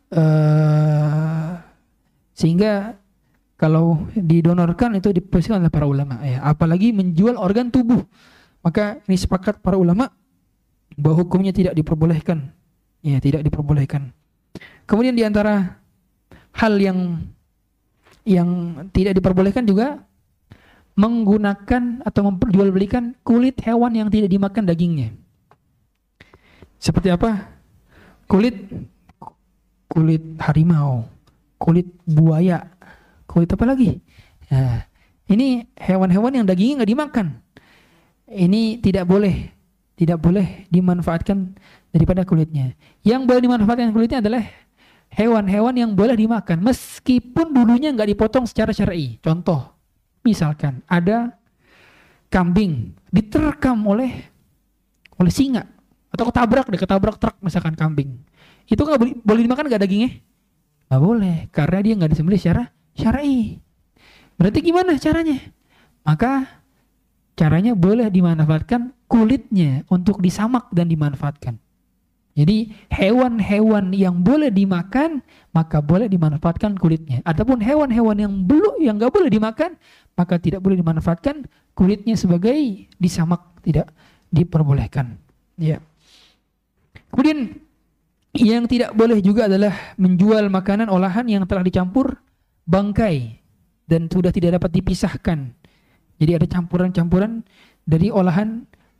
Sehingga kalau didonorkan itu dipersilakan oleh para ulama, ya. Apalagi menjual organ tubuh. Maka ini sepakat para ulama bahwa hukumnya tidak diperbolehkan. Ya, tidak diperbolehkan. Kemudian di antara hal yang tidak diperbolehkan juga menggunakan atau memperjualbelikan kulit hewan yang tidak dimakan dagingnya. Seperti apa? Kulit harimau, kulit buaya, kulit apa lagi? Nah, ini hewan-hewan yang dagingnya nggak dimakan. Ini tidak boleh dimanfaatkan daripada kulitnya. Yang boleh dimanfaatkan kulitnya adalah hewan-hewan yang boleh dimakan meskipun dulunya nggak dipotong secara syar'i. Contoh, misalkan ada kambing diterkam oleh singa atau ketabrak truk misalkan kambing. Itu nggak boleh dimakan nggak dagingnya? Nggak boleh, karena dia nggak disembelih secara syar'i. Berarti gimana caranya? Maka caranya boleh dimanfaatkan kulitnya untuk disamak dan dimanfaatkan. Jadi hewan-hewan yang boleh dimakan maka boleh dimanfaatkan kulitnya. Adapun hewan-hewan yang nggak boleh dimakan maka tidak boleh dimanfaatkan kulitnya sebagai disamak, tidak diperbolehkan. Ya. Kemudian yang tidak boleh juga adalah menjual makanan olahan yang telah dicampur bangkai dan sudah tidak dapat dipisahkan. Jadi ada campuran-campuran dari olahan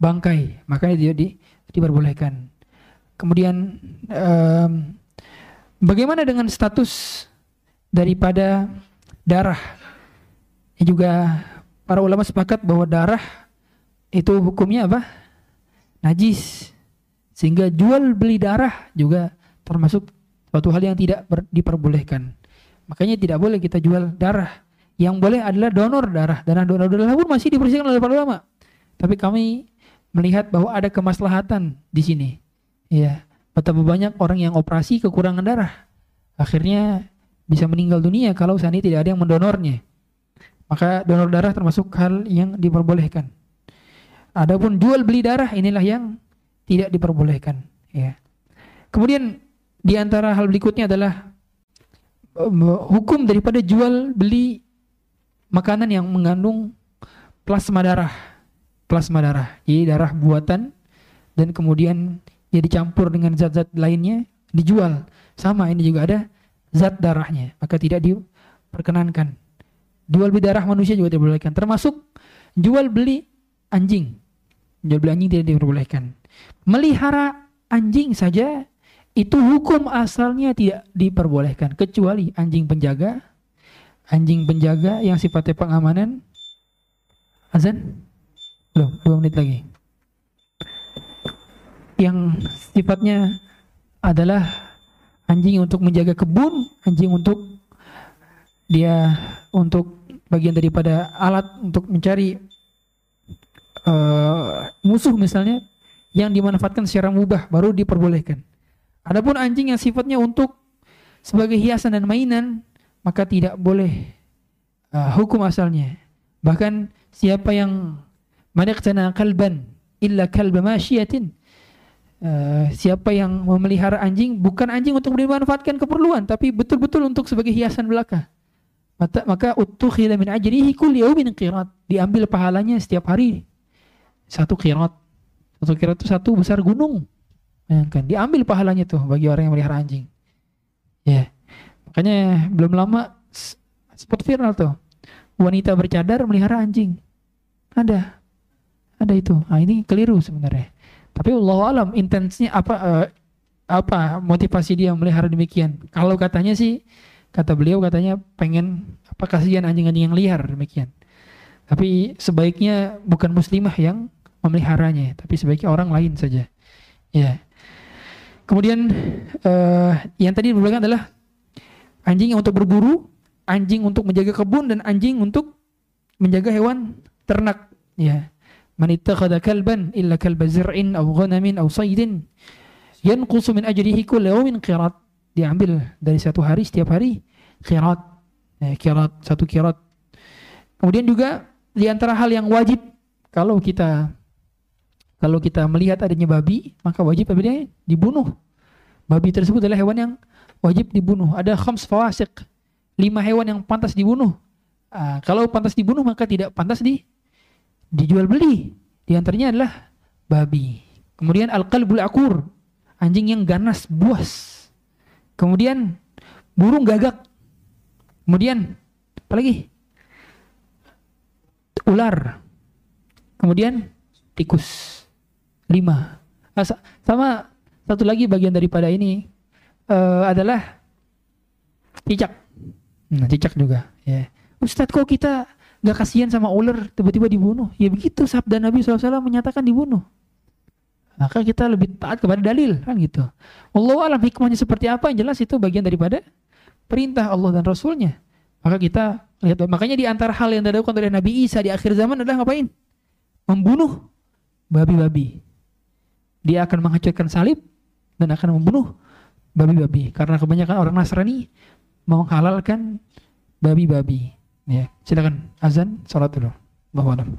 bangkai, makanya dia diperbolehkan. Kemudian bagaimana dengan status daripada darah? Ini juga para ulama sepakat bahwa darah itu hukumnya apa? Najis. Sehingga jual beli darah juga termasuk suatu hal yang tidak diperbolehkan. Makanya tidak boleh kita jual darah. Yang boleh adalah donor darah. Dan donor darah pun masih dipersilakan oleh para ulama. Tapi kami melihat bahwa ada kemaslahatan di sini. Ya, betapa banyak orang yang operasi kekurangan darah, akhirnya bisa meninggal dunia kalau seandainya tidak ada yang mendonornya. Maka donor darah termasuk hal yang diperbolehkan. Adapun jual beli darah inilah yang tidak diperbolehkan. Ya. Kemudian di antara hal berikutnya adalah hukum daripada jual beli makanan yang mengandung plasma darah. Plasma darah, jadi darah buatan dan kemudian dia dicampur dengan zat-zat lainnya dijual. Sama, ini juga ada zat darahnya, maka tidak diperkenankan. Jual beli darah manusia juga tidak diperbolehkan, termasuk jual beli anjing. Jual beli anjing tidak diperbolehkan. Melihara anjing saja itu hukum asalnya tidak diperbolehkan, kecuali anjing penjaga yang sifatnya pengamanan. Azan? Belum, 2 menit lagi. Yang sifatnya adalah anjing untuk menjaga kebun, anjing untuk bagian daripada alat untuk mencari musuh misalnya, yang dimanfaatkan secara mubah baru diperbolehkan. Adapun anjing yang sifatnya untuk sebagai hiasan dan mainan, maka tidak boleh hukum asalnya. Bahkan siapa yang maniqtana kalban illa kalba masyiatin, siapa yang memelihara anjing, bukan anjing untuk dimanfaatkan keperluan, tapi betul-betul untuk sebagai hiasan belaka, maka uttukhila min ajrihi kulli yawmin qirat, diambil pahalanya setiap hari 1 qirat. 1 qirat itu 1 besar gunung. Kan diambil pahalanya tuh bagi orang yang melihara anjing. Ya. Makanya belum lama sempat viral tuh, wanita bercadar melihara anjing. Ada itu. Nah, ini keliru sebenarnya. Tapi Allah alam intensnya apa motivasi dia melihara demikian. Kalau katanya sih, kata beliau katanya pengen kasihan anjing-anjing yang liar demikian. Tapi sebaiknya bukan muslimah yang memeliharanya, tapi sebaiknya orang lain saja. Ya. Kemudian yang tadi dibilang adalah anjing yang untuk berburu, anjing untuk menjaga kebun, dan anjing untuk menjaga hewan ternak. Ya. Man ittakhadha kalban illa kalba zir'in aw ghanamin aw saydin yanqusu min ajrihi kullu yawmin qirat. Diambil dari 1 hari, setiap hari qirat. Qirat, 1 qirat. Kemudian juga di antara hal yang wajib kalau kita melihat adanya babi, maka wajib apabila dibunuh. Babi tersebut adalah hewan yang wajib dibunuh. Ada khams fawasiq, 5 hewan yang pantas dibunuh. Kalau pantas dibunuh maka tidak pantas dijual beli. Di antaranya adalah babi. Kemudian al-qalbul aqur, anjing yang ganas, buas. Kemudian burung gagak. Kemudian apa lagi? Ular. Kemudian tikus. 5. Sama satu lagi bagian daripada ini adalah cicak. Cicak juga. Ya. Ustadz, kok kita gak kasihan sama ular tiba-tiba dibunuh? Ya begitu sabda Nabi SAW menyatakan dibunuh. Maka kita lebih taat kepada dalil, kan gitu. Wallahu alam hikmahnya seperti apa, yang jelas itu bagian daripada perintah Allah dan Rasulnya. Maka kita lihat, makanya di antara hal yang dilakukan oleh Nabi Isa di akhir zaman adalah ngapain? Membunuh babi-babi. Dia akan menghancurkan salib dan akan membunuh babi-babi, karena kebanyakan orang Nasrani menghalalkan babi-babi. Ya, silakan azan, salat dulu. Allahu a'lam.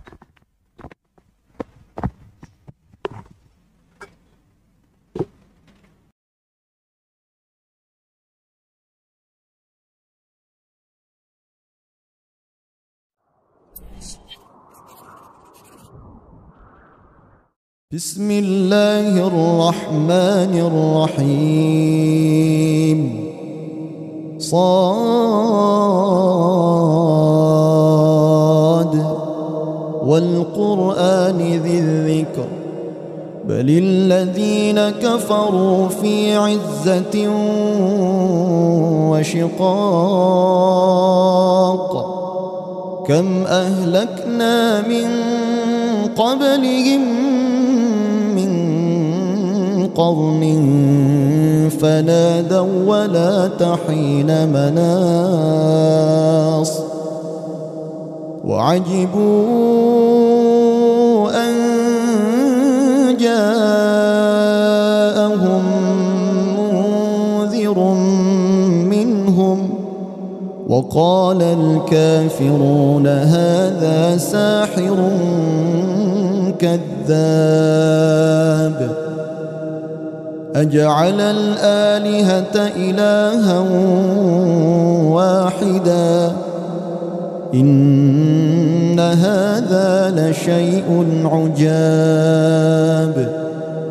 بسم الله الرحمن الرحيم صاد والقرآن ذي الذكر بل الذين كفروا في عزة وشقاق كم أهلكنا من قبلهم من قرن فنادوا ولا تحين مناص وعجبوا أن جاءهم منذر منهم وقال الكافرون هذا ساحر كذاب أجعل الآلهة إلها واحدا إن هذا لشيء عجاب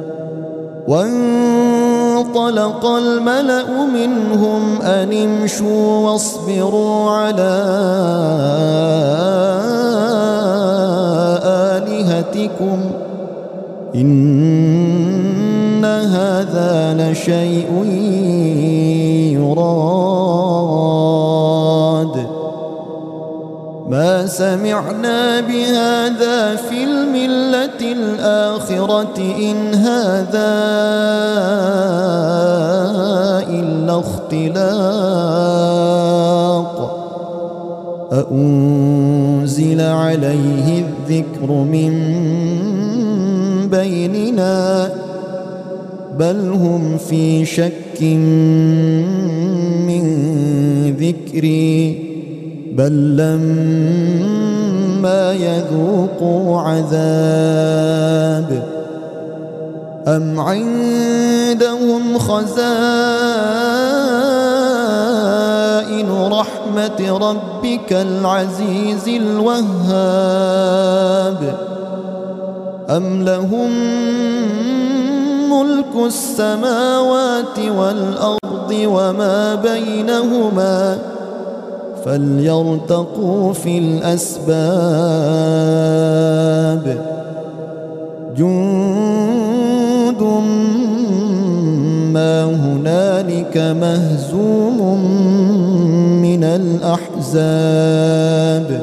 وانطلق الملأ منهم أن امشوا واصبروا على آلهتكم إن هذا لشيء يراد ما سمعنا بهذا في الملة الآخرة إن هذا إلا اختلاق أأنزل عليه الذكر من بيننا بل هم في شك من ذكري بل لما يذوقوا عذاب أم عندهم خزائن رحمة ربك العزيز الوهاب أم لهم ملك السماوات والأرض وما بينهما فليرتقوا في الأسباب جند ما هنالك مهزوم من الأحزاب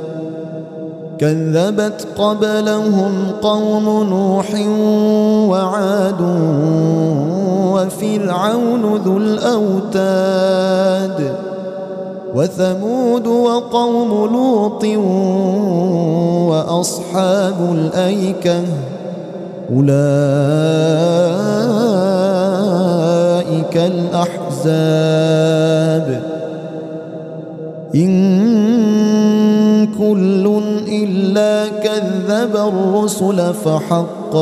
كذبت قبلهم قوم نوح وعاد وفرعون ذو الأوتاد وثمود وقوم لوط وأصحاب الأيكة أولئك الأحزاب إن كل إلا كذب الرسل فحق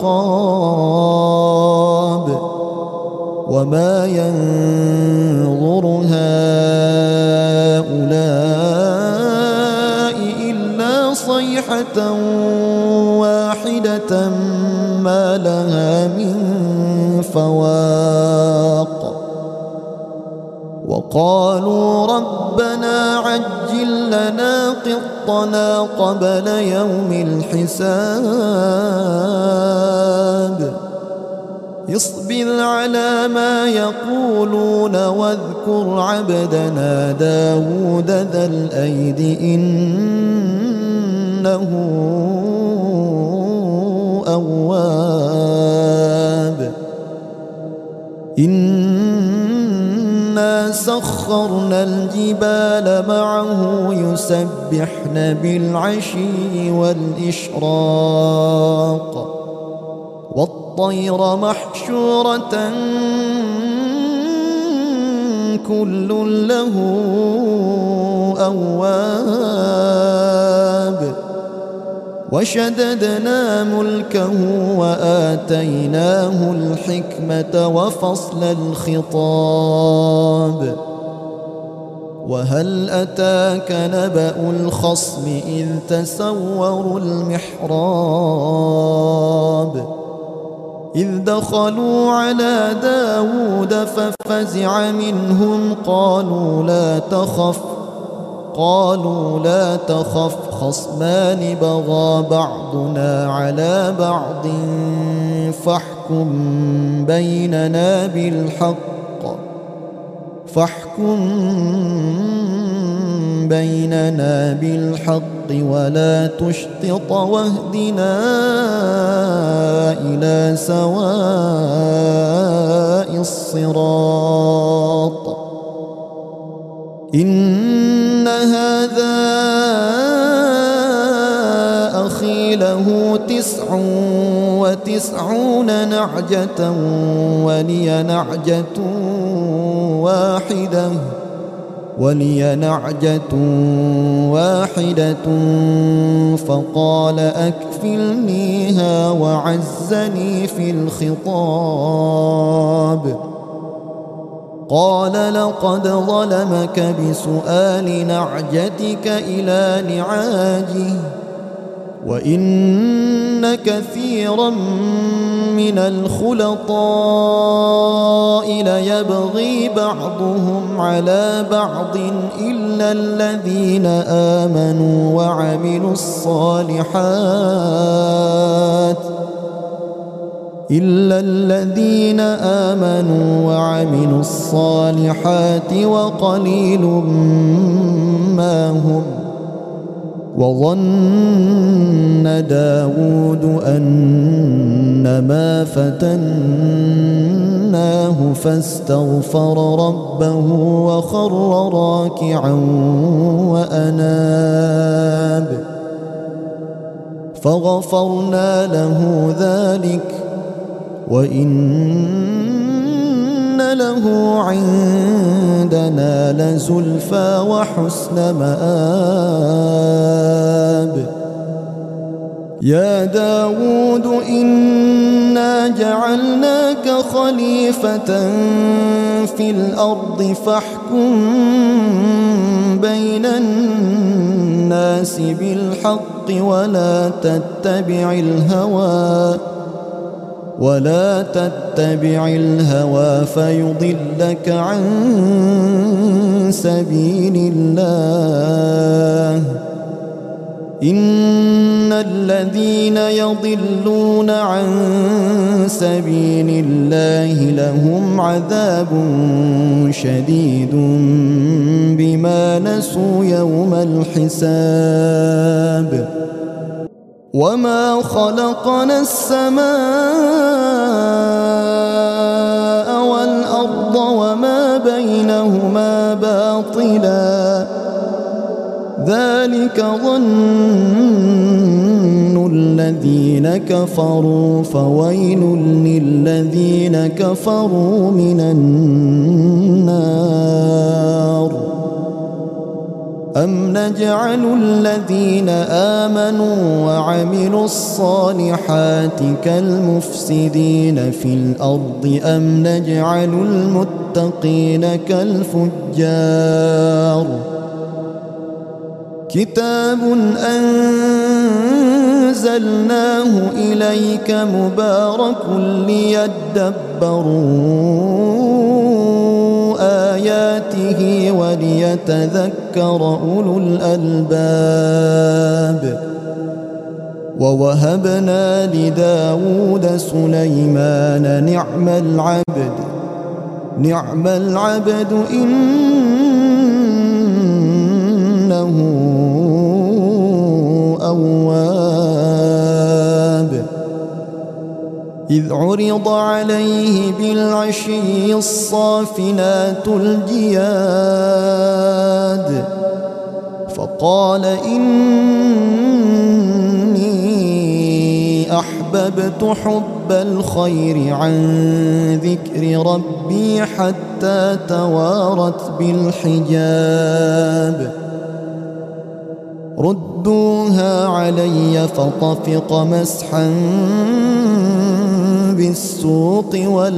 عقاب وما ينظر هؤلاء إلا صيحة واحدة ما لها من فواق وقالوا ربنا عجل لنا قطنا قبل يوم الحساب اصبر على ما يقولون واذكر عبدنا داود ذا الأيد إنه أواب إنا سخرنا الجبال معه يسبحن بالعشي والإشراق والطير محشورة كل له أواب وشددنا ملكه وآتيناه الحكمة وفصل الخطاب وهل أتاك نبأ الخصم إذ تسوروا المحراب إذ دخلوا على داود ففزع منهم قالوا لا تخف قالوا لا تخف خصمان بغى بعضنا على بعض فاحكم بيننا بالحق ولا تشطط واهدنا إلى سواء الصراط إن هذا أخي له 99 نعجة ولي نعجة واحدة فقال أكفلنيها وعزني في الخطاب قال لقد ظلمك بسؤال نعجتك إلى نعاجه وإن كثيرا من الخلطاء ليبغي بعضهم على بعض إلا الذين آمنوا وعملوا الصالحات وقليل ما هم وظن داود أنما فتناه فاستغفر ربه وخر راكعا وأناب فغفرنا له ذلك وإن له عندنا لزلفى وحسن مآب يا داود إنا جعلناك خليفة في الأرض فاحكم بين الناس بالحق ولا تتبع الهوى فيضلك عن سبيل الله إن الذين يضلون عن سبيل الله لهم عذاب شديد بما نسوا يوم الحساب وما خلقنا السماء والأرض وما بينهما باطلا ذلك ظن الذين كفروا فويل للذين كفروا من النار أم نجعل الذين آمنوا وعملوا الصالحات كالمفسدين في الأرض أم نجعل المتقين كالفجار كتاب أنزلناه إليك مبارك ليدبروا آياته وليتذكر أولو الألباب ووهبنا لداود سليمان نعم العبد إنه أواب إذ عرض عليه بالعشي الصافنات الجياد فقال إني أحببت حب الخير عن ذكر ربي حتى توارت بالحجاب ردوها علي فطفق مسحا بالسوق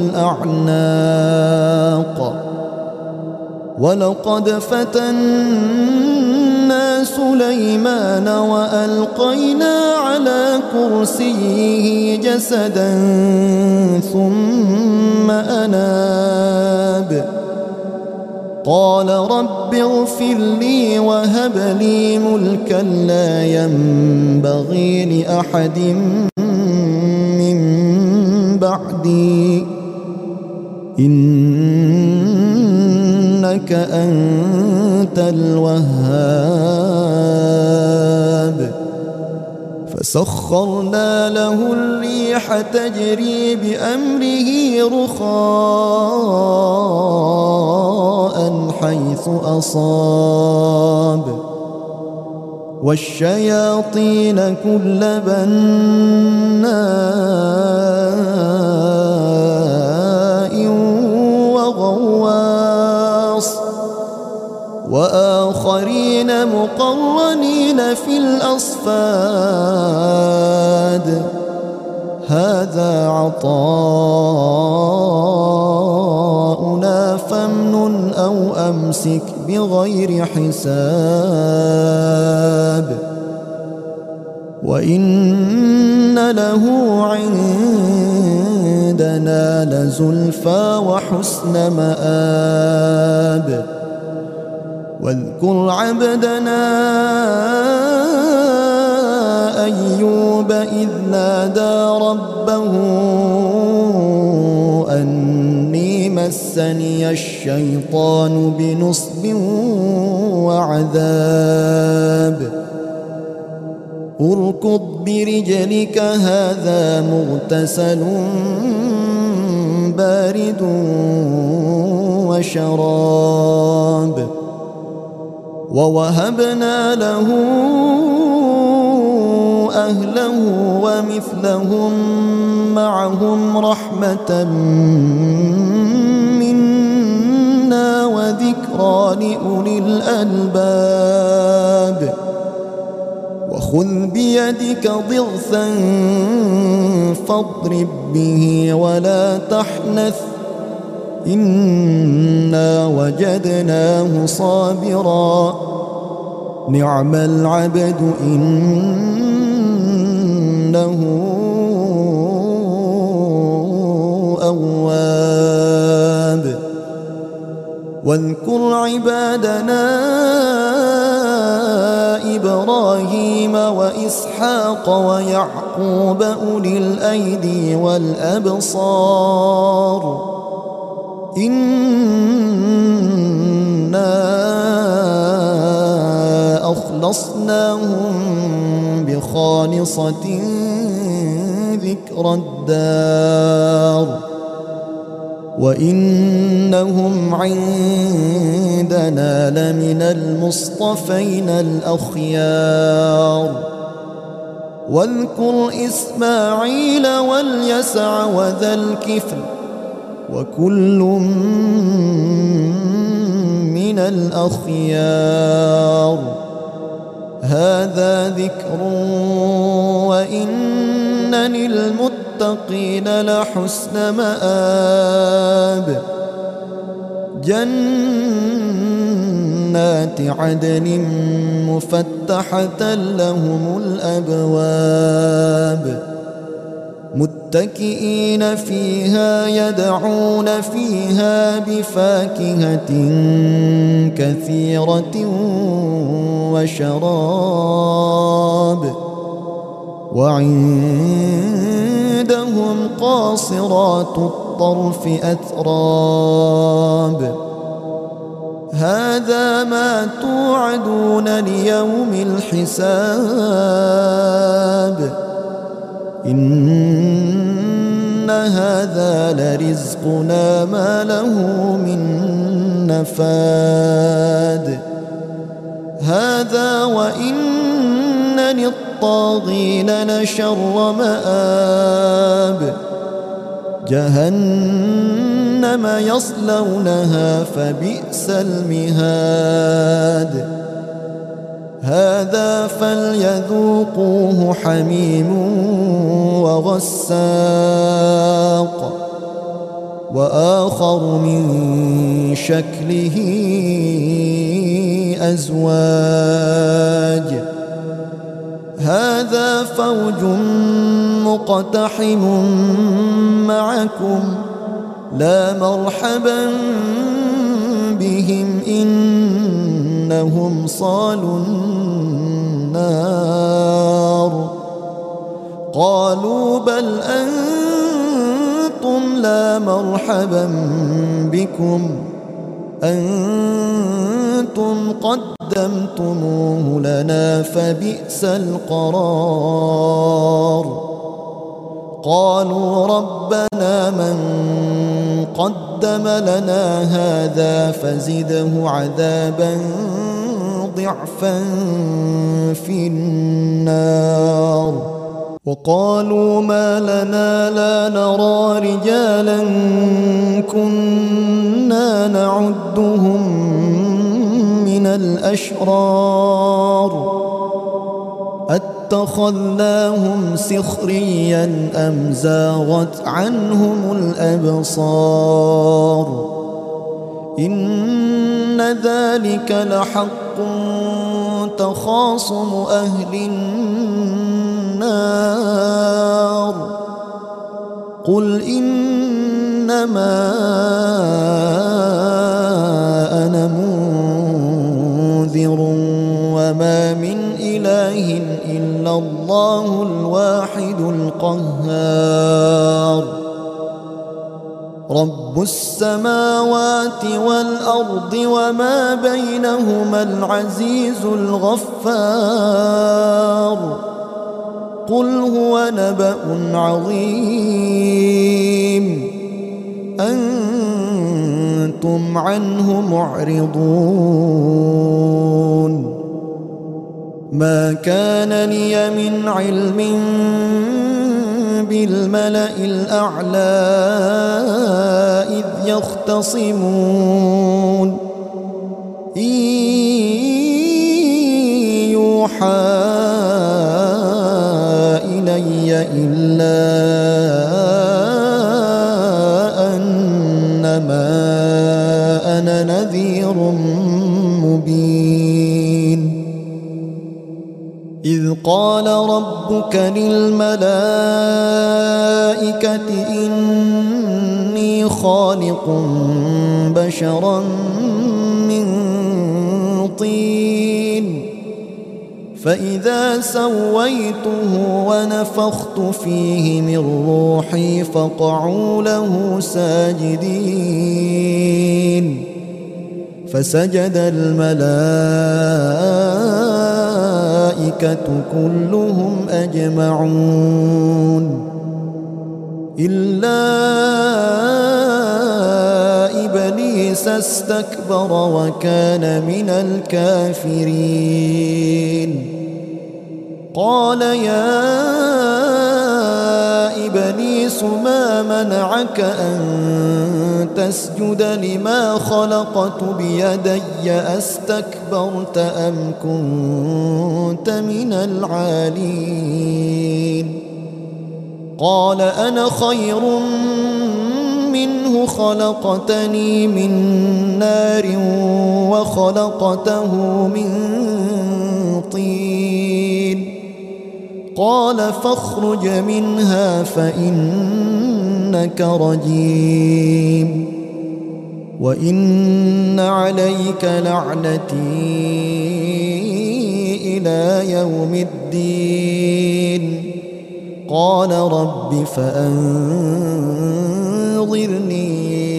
والأعناق ولقد فتنا سليمان وألقينا على كرسيه جسدا ثم أناب قال رب اغفر لي وهب لي ملكا لا ينبغي لأحد من بعدي إنك أنت الوهاب. فسخرنا له الريح تجري بأمره رخاء حيث أصاب والشياطين كل بناء وغواص وآخرين مقرنين في الأصفاد هذا عطاؤنا فامنن أو أمسك بغير حساب وإن له عندنا لزلفى وحسن مآب. واذكر عبدنا أيوب إذ نادى ربه أني مسني الشيطان بنصب وعذاب اركض برجلك هذا مغتسل بارد وشراب. ووهبنا له أهله ومثلهم معهم رحمة منا وذكرى لأولي الألباب. وخذ بيدك ضغثا فاضرب به ولا تحنث إنا وجدناه صابرا نعم العبد إنه أواب. واذكر عبادنا إبراهيم وإسحاق ويعقوب أولي الأيدي والأبصار إنا أخلصناهم بخالصة ذكر الدار وإنهم عندنا لمن المصطفين الأخيار. واذكر إسماعيل واليسع وذا الكفل وكل من الأخيار هذا ذكر وإن للمتقين لحسن مآب. جنات عدن مفتحة لهم الأبواب متكئين فيها يدعون فيها بفاكهة كثيرة وشراب وعندهم قاصرات الطرف أتراب هذا ما توعدون ليوم الحساب إن هذا لرزقنا ما له من نفاد هذا وإن للطاغين لشر مآب جهنم يصلونها فبئس المهاد هذا فليذوقوه حميم وغساق وآخر من شكله أزواج هذا فوج مقتحم معكم لا مرحبا بهم إنهم صالوا النار قالوا بل أنتم لا مرحبا بكم أنتم قدمتموه لنا فبئس القرار قالوا ربنا من قدم لنا هذا فزده عذابا ضعفا في النار وقالوا ما لنا لا نرى رجالا كنا نعدهم من الأشرار اتخذناهم سخريا أم زاغت عنهم الأبصار إن ذلك لحق تخاصم أهل النار قل إنما أنا منذر وما من إله إلا الله الواحد القهار رب السماوات والأرض وما بينهما العزيز الغفار قل هو نبأ عظيم أنتم عنه معرضون ما كان لي من علم بالملأ الأعلى إذ يختصمون إن يوحى إلي إلا أنما أنا نذير مبين إذ قال ربك للملائكة إني خالق بشرا من طين فإذا سويته ونفخت فيه من روحي فقعوا له ساجدين فسجد الملائكة كلهم أجمعون إلا إبليس استكبر وكان من الكافرين قال يا إبليس ما منعك أن تسجد لما خلقت بيدي أستكبرت أم كنت من العالين قال أنا خير منه خلقتني من نار وخلقته من طين قال فاخرج منها فإنك رجيم وإن عليك لعنتي إلى يوم الدين قال رب فأنظرني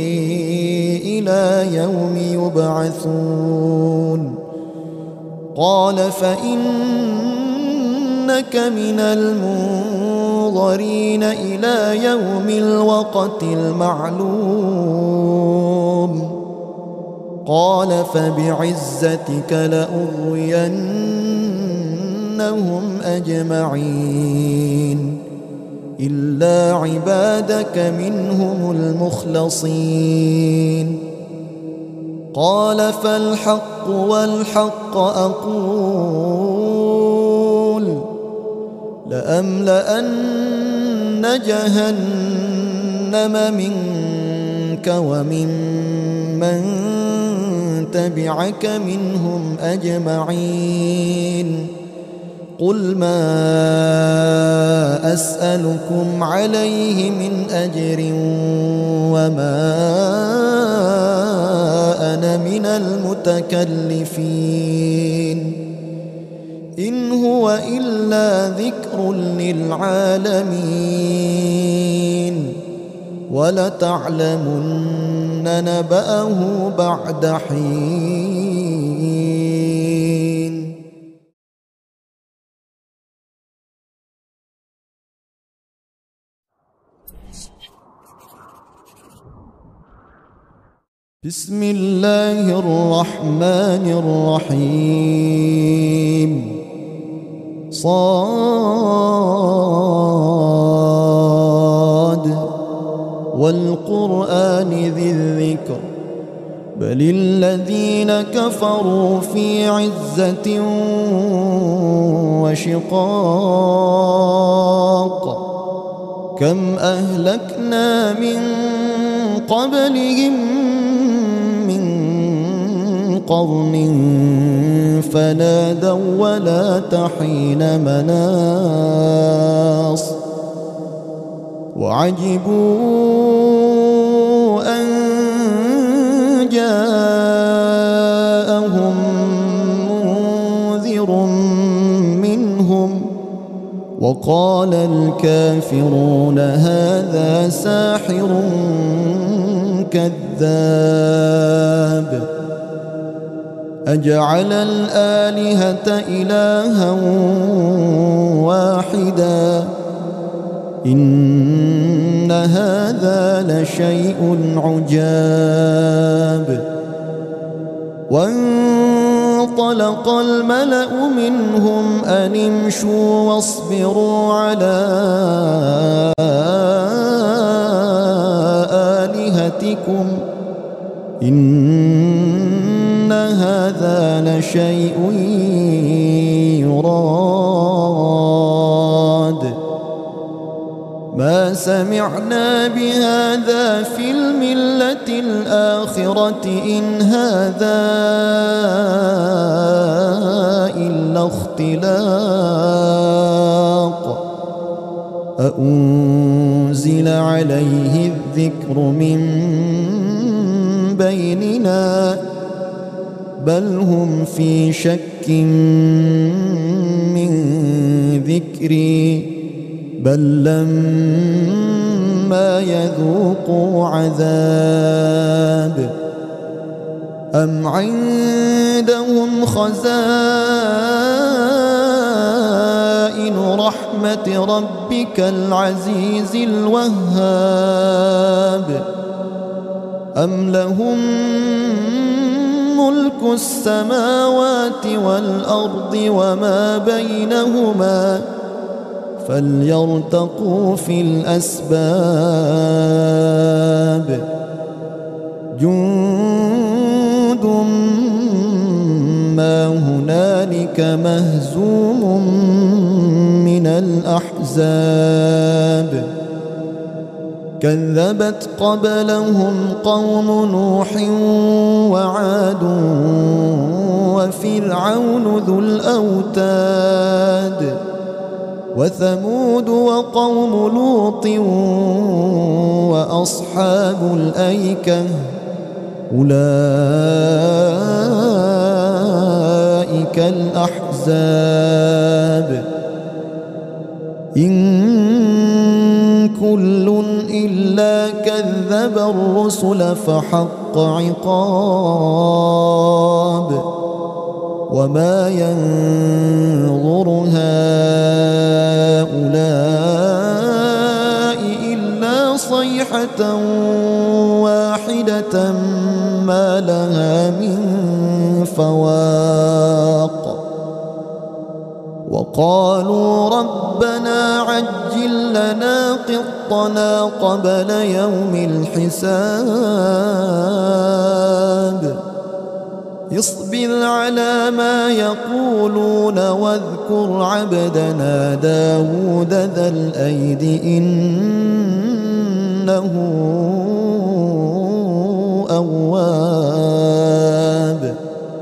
إلى يوم يبعثون قال فإنك من المنظرين إلى يوم الوقت المعلوم قال فبعزتك لأغوينهم أجمعين إلا عبادك منهم المخلصين قال فالحق والحق أقول لأملأن جهنم منك وممن تبعك منهم أجمعين قل ما أسألكم عليه من أجر وما أنا من المتكلفين إن هو إلا ذكر للعالمين ولتعلمن نبأه بعد حين. بسم الله الرحمن الرحيم. صاد والقرآن ذي الذكر بل الذين كفروا في عزة وشقاق كم أهلكنا من قبلهم من قرن فنادوا ولا تحين مناص وعجبوا أن جاءهم منذر منهم وقال الكافرون هذا ساحر كذاب أجعل الآلهة إلها واحدا إن هذا لشيء عجاب. وانطلق الملأ منهم أن امشوا واصبروا على آلهتكم إن هذا لشيء يراد ما سمعنا بهذا في الملة الآخرة إن هذا إلا اختلاق أأنزل عليه الذكر من بيننا بل هم في شك من ذكري بل لما يذوقوا عذاب أم عندهم خزائن رحمة ربك العزيز الوهاب أم لهم ملك السماوات والأرض وما بينهما فليرتقوا في الأسباب جند ما هنالك مهزوم من الأحزاب كذبت قبلهم قوم نوح وعاد وفرعون ذو الأوتاد وثمود وقوم لوط وأصحاب الأيكة أولئك الأحزاب إن كل إلا كذب الرسل فحق عقاب وما ينظر هؤلاء إلا صيحة واحدة ما لها من فواق وقالوا ربنا عجل لنا قطنا قبل يوم الحساب اصبر على ما يقولون واذكر عبدنا داود ذا الأيد إنه أواب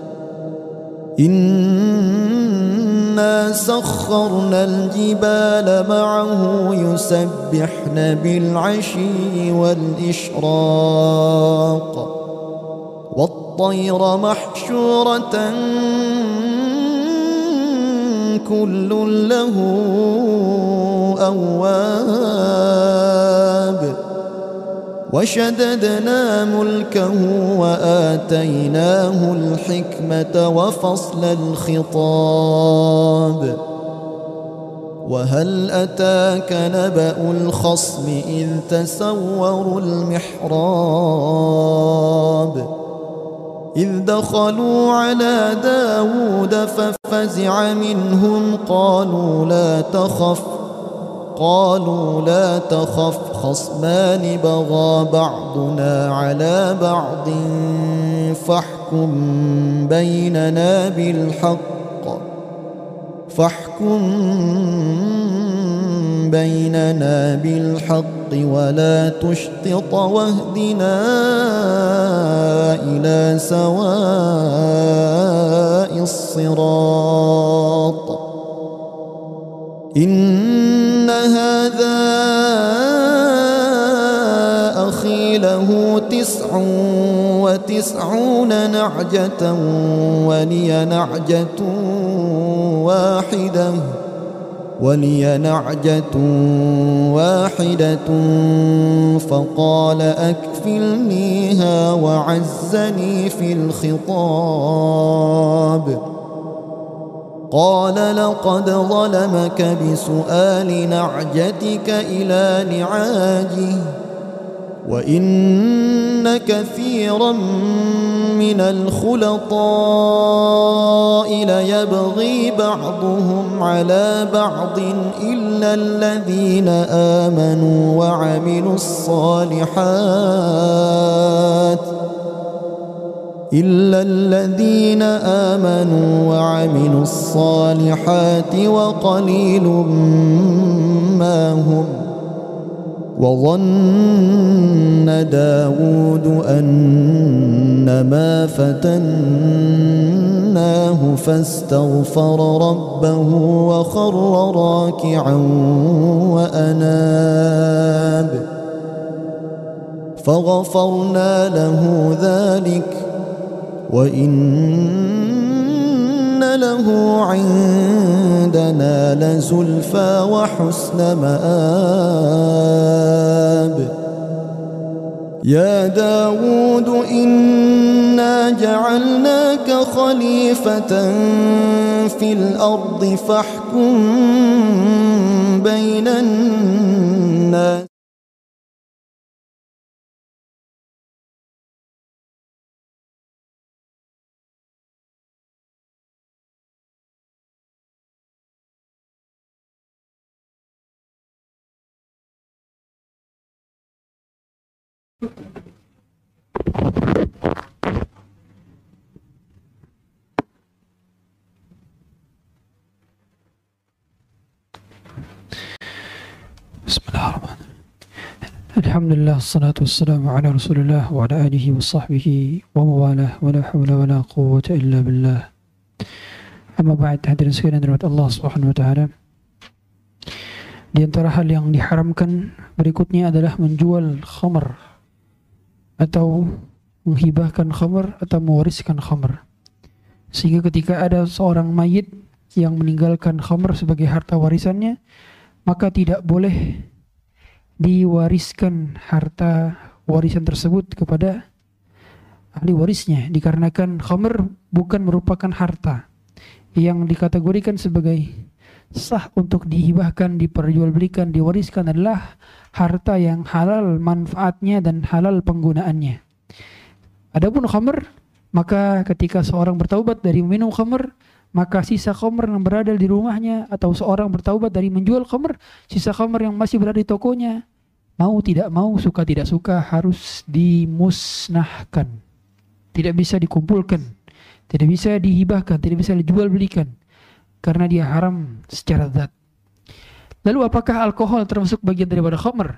إنا سخرنا الجبال معه يسبحن بالعشي والإشراق والطير محشورة كل له أواب وشددنا ملكه وآتيناه الحكمة وفصل الخطاب وهل أتاك نبأ الخصم إذ تسوروا المحراب إذ دخلوا على داود ففزع منهم قالوا لا تخف خصمان بغى بعضنا على بعض فاحكم بيننا بالحق ولا تشطط واهدنا إلى سواء الصراط إن هذا أخي له 99 نعجة ولي نعجة واحدة فقال أكفلنيها وعزني في الخطاب قال لقد ظلمك بسؤال نعجتك إلى نعاجه وإن كثيرا من الخلطاء ليبغي بعضهم على بعض إلا الذين آمنوا وعملوا الصالحات وقليل ما هم وظن داود أنما فتناه فاستغفر ربه وخر راكعا وأناب فغفرنا له ذلك وإن له عندنا لزلفى وحسن مآب يا داود إنا جعلناك خليفة في الأرض فاحكم بين الناس Bismillahirrahmanirrahim. Alhamdulillah, assalatu wassalamu ala rasulillah wa ala alihi wa sahbihi wa mawalah wa la hawla wa la quwwata illa billah. Amma ba'd, hadirin sekalian dirahmati Allah Subhanahu wa taala. Di antara hal yang diharamkan berikutnya adalah menjual khamr atau menghibahkan khamr atau mewariskan khamr. Sehingga ketika ada seorang mayit yang meninggalkan khamr sebagai harta warisannya, maka tidak boleh diwariskan harta warisan tersebut kepada ahli warisnya, dikarenakan khamr bukan merupakan harta yang dikategorikan sebagai sah untuk dihibahkan, diperjualbelikan, diwariskan. Adalah harta yang halal manfaatnya dan halal penggunaannya. Adapun khamr, maka ketika seorang bertaubat dari minum khamr, maka sisa khamr yang berada di rumahnya, atau seorang bertaubat dari menjual khamr, sisa khamr yang masih berada di tokonya, mau tidak mau, suka tidak suka, harus dimusnahkan. Tidak bisa dikumpulkan, tidak bisa dihibahkan, tidak bisa dijual belikan, karena dia haram secara zat. Lalu apakah alkohol termasuk bagian daripada khamr?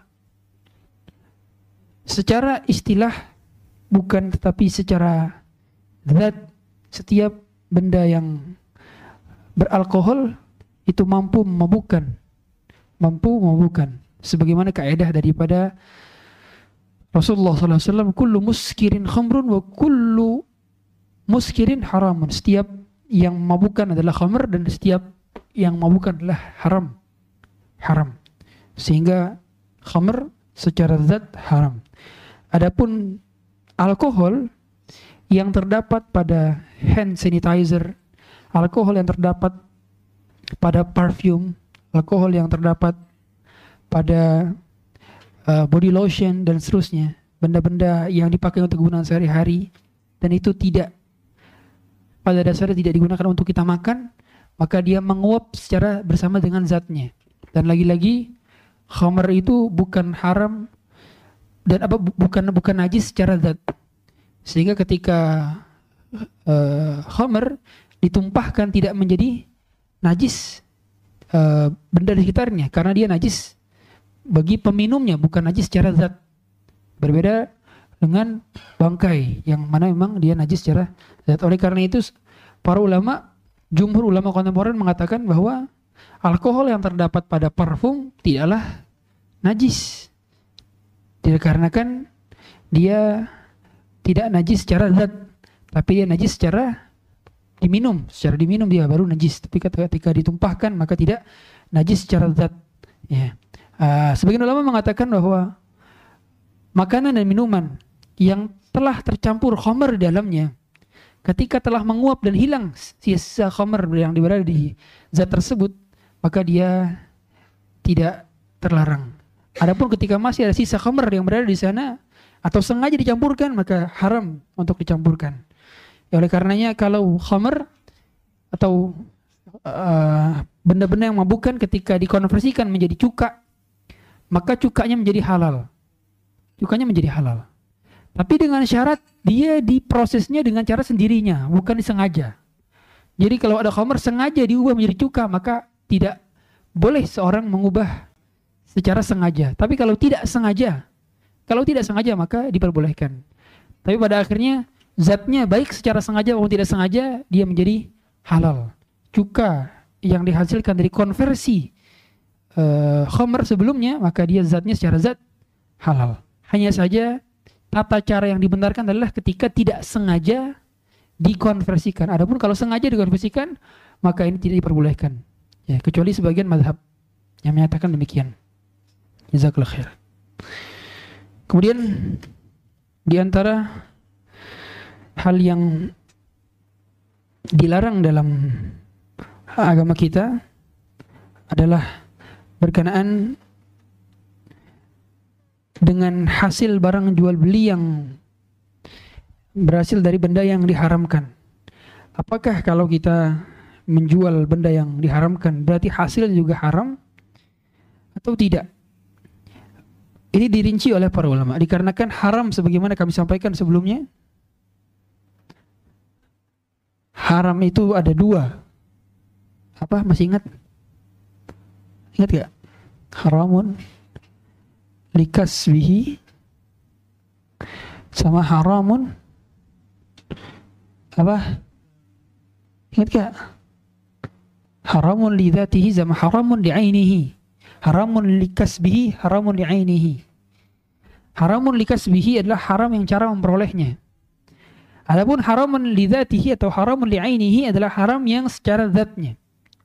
Secara istilah bukan, tetapi secara zat setiap benda yang beralkohol itu mampu memabukkan. Sebagaimana kaidah daripada Rasulullah SAW, kullu muskirin khamrun wa kullu muskirin haramun. Setiap yang memabukkan adalah khamr dan setiap yang memabukkan adalah haram. Sehingga khamr secara zat haram. Adapun alkohol yang terdapat pada hand sanitizer, alkohol yang terdapat pada parfum, alkohol yang terdapat pada body lotion dan seterusnya, benda-benda yang dipakai untuk kegunaan sehari-hari, dan itu pada dasarnya tidak digunakan untuk kita makan, maka dia menguap secara bersama dengan zatnya. Dan lagi-lagi khamr itu bukan haram dan bukan najis secara zat. Sehingga ketika khamr ditumpahkan tidak menjadi najis benda di sekitarnya, karena dia najis bagi peminumnya, bukan najis secara zat. Berbeda dengan bangkai yang mana memang dia najis secara zat. Oleh karena itu para ulama, jumhur ulama kontemporer mengatakan bahwa alkohol yang terdapat pada parfum tidaklah najis, dikarenakan dia tidak najis secara zat, tapi dia najis secara diminum dia baru najis. Tapi ketika ditumpahkan maka tidak najis secara zat. Ya. Sebagian ulama mengatakan bahwa makanan dan minuman yang telah tercampur khamr di dalamnya, ketika telah menguap dan hilang sisa khamr yang berada di zat tersebut, maka dia tidak terlarang. Adapun ketika masih ada sisa khamr yang berada di sana atau sengaja dicampurkan, maka haram untuk dicampurkan. Ya, oleh karenanya kalau khamr atau benda-benda yang memabukkan ketika dikonversikan menjadi cuka, maka cukanya menjadi halal. Tapi dengan syarat dia diprosesnya dengan cara sendirinya, bukan disengaja. Jadi kalau ada khamr sengaja diubah menjadi cuka, maka tidak boleh seorang mengubah secara sengaja. Tapi kalau tidak sengaja maka diperbolehkan. Tapi pada akhirnya zatnya baik secara sengaja maupun tidak sengaja dia menjadi halal. Cuka yang dihasilkan dari konversi khamr sebelumnya, maka dia zatnya secara zat halal. Hanya saja tata cara yang dibenarkan adalah ketika tidak sengaja dikonversikan. Adapun kalau sengaja dikonversikan, maka ini tidak diperbolehkan. Ya, kecuali sebagian mazhab yang menyatakan demikian. Jazakallahu khair. Kemudian di antara hal yang dilarang dalam agama kita adalah berkenaan dengan hasil barang jual beli yang berhasil dari benda yang diharamkan. Apakah kalau kita menjual benda yang diharamkan berarti hasilnya juga haram atau tidak? Ini dirinci oleh para ulama, dikarenakan haram sebagaimana kami sampaikan sebelumnya. Haram itu ada dua. Apa? Masih ingat? Ingat gak? Haramun likasbihi sama haramun apa? Ingat gak? Haramun li dzatihi sama haramun li ainihi. Haramun likasbihi, haramun li ainihi. Haramun likasbihi adalah haram yang cara memperolehnya. Adapun haramun li dzatihi atau haramun li ainihi adalah haram yang secara zatnya.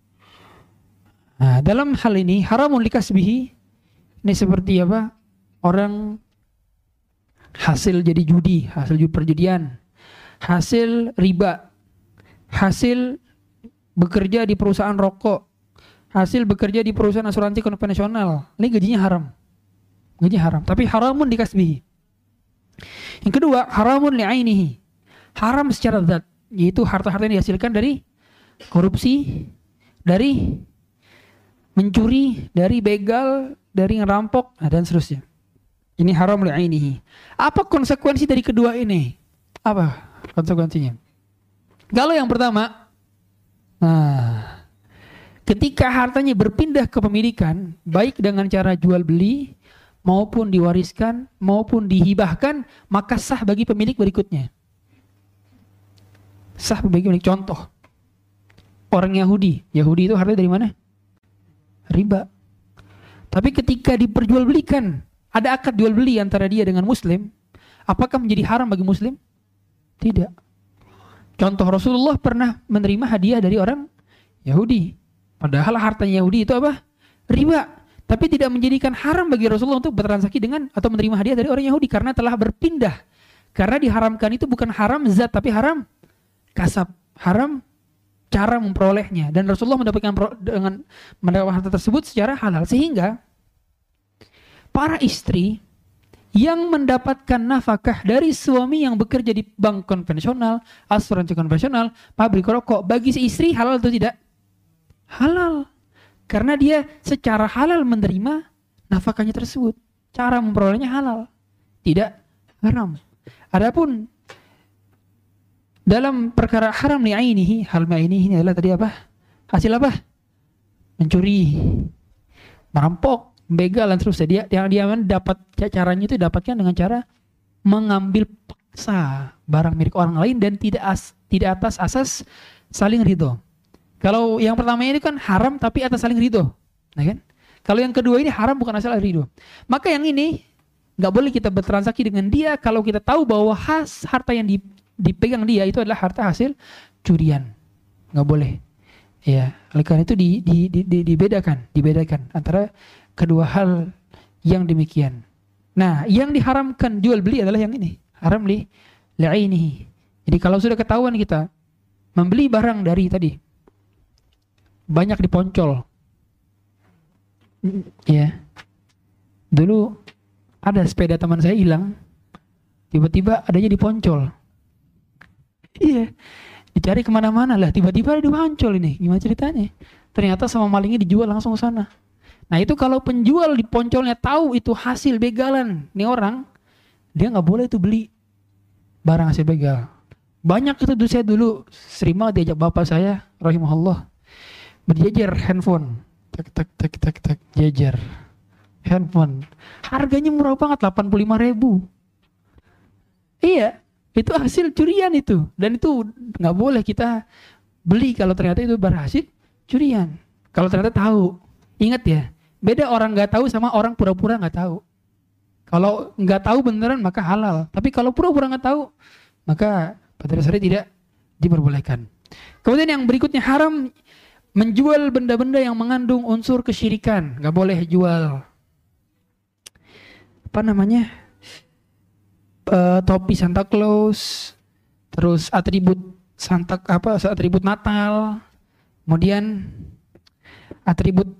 Nah, dalam hal ini haramun likasbihi ini seperti apa? Orang hasil jadi judi, hasil perjudian, hasil riba, hasil bekerja di perusahaan rokok, hasil bekerja di perusahaan asuransi konvensional. Ini gajinya haram. Tapi haramun likasbihi. Yang kedua, haramun li'ainihi. Haram secara zat, yaitu harta-harta yang dihasilkan dari korupsi, dari mencuri, dari begal, dari ngerampok, dan seterusnya. Ini haram li'ainihi. Apa konsekuensi dari kedua ini? Apa konsekuensinya? Kalau yang pertama, ketika hartanya berpindah ke pemilikan, baik dengan cara jual beli, maupun diwariskan, maupun dihibahkan, maka sah bagi pemilik berikutnya. Sah bagi pemilik. Contoh, orang Yahudi itu hartanya dari mana? Riba. Tapi ketika diperjualbelikan, ada akad jual beli antara dia dengan Muslim, apakah menjadi haram bagi Muslim? Tidak. Contoh, Rasulullah pernah menerima hadiah dari orang Yahudi. Padahal hartanya Yahudi itu apa? Riba. Tapi tidak menjadikan haram bagi Rasulullah untuk bertransaksi dengan atau menerima hadiah dari orang Yahudi karena telah berpindah. Karena diharamkan itu bukan haram zat tapi haram kasab, haram cara memperolehnya. Dan Rasulullah dengan mendapatkan harta tersebut secara halal, sehingga para istri yang mendapatkan nafkah dari suami yang bekerja di bank konvensional, asuransi konvensional, pabrik rokok, bagi si istri halal atau tidak? Halal. Karena dia secara halal menerima nafkahnya tersebut. Cara memperolehnya halal, tidak haram. Adapun dalam perkara haram li'ainihi, hal ma'inihi ini adalah tadi apa? Hasil apa? Mencuri, merampok, begal dan seterusnya. Dia dapat caranya itu dapatkan dengan cara mengambil paksa barang milik orang lain dan tidak atas asas saling ridho. Kalau yang pertama ini kan haram tapi atas saling ridho, nah kan? Kalau yang kedua ini haram bukan asal ridho. Maka yang ini nggak boleh kita bertransaksi dengan dia kalau kita tahu bahwa harta yang dipegang dia itu adalah harta hasil curian, nggak boleh. Ya, oleh karena itu dibedakan antara kedua hal yang demikian. Nah, yang diharamkan jual beli adalah yang ini, haram li'ainihi. Jadi kalau sudah ketahuan kita membeli barang dari tadi banyak diponcol, ya. Dulu ada sepeda teman saya hilang, tiba-tiba adanya diponcol. Iya, dicari kemana-mana lah, tiba-tiba ada diponcol ini. Gimana ceritanya? Ternyata sama malingnya dijual langsung ke sana. Nah itu kalau penjual diponcolnya tahu itu hasil begalan nih orang, dia nggak boleh itu beli barang hasil begal. Banyak itu saya dulu sering banget diajak bapak saya, rahimahullah, berjejer handphone, tak jejer handphone, harganya murah banget, 85.000. Iya, itu hasil curian itu, dan itu nggak boleh kita beli kalau ternyata itu berhasil curian. Kalau ternyata tahu, ingat ya, beda orang nggak tahu sama orang pura-pura nggak tahu. Kalau nggak tahu beneran maka halal, tapi kalau pura-pura nggak tahu maka pada dasarnya tidak diperbolehkan. Kemudian yang berikutnya, haram menjual benda-benda yang mengandung unsur kesyirikan. Nggak boleh jual apa namanya, topi Santa Claus, terus atribut atribut Natal, kemudian atribut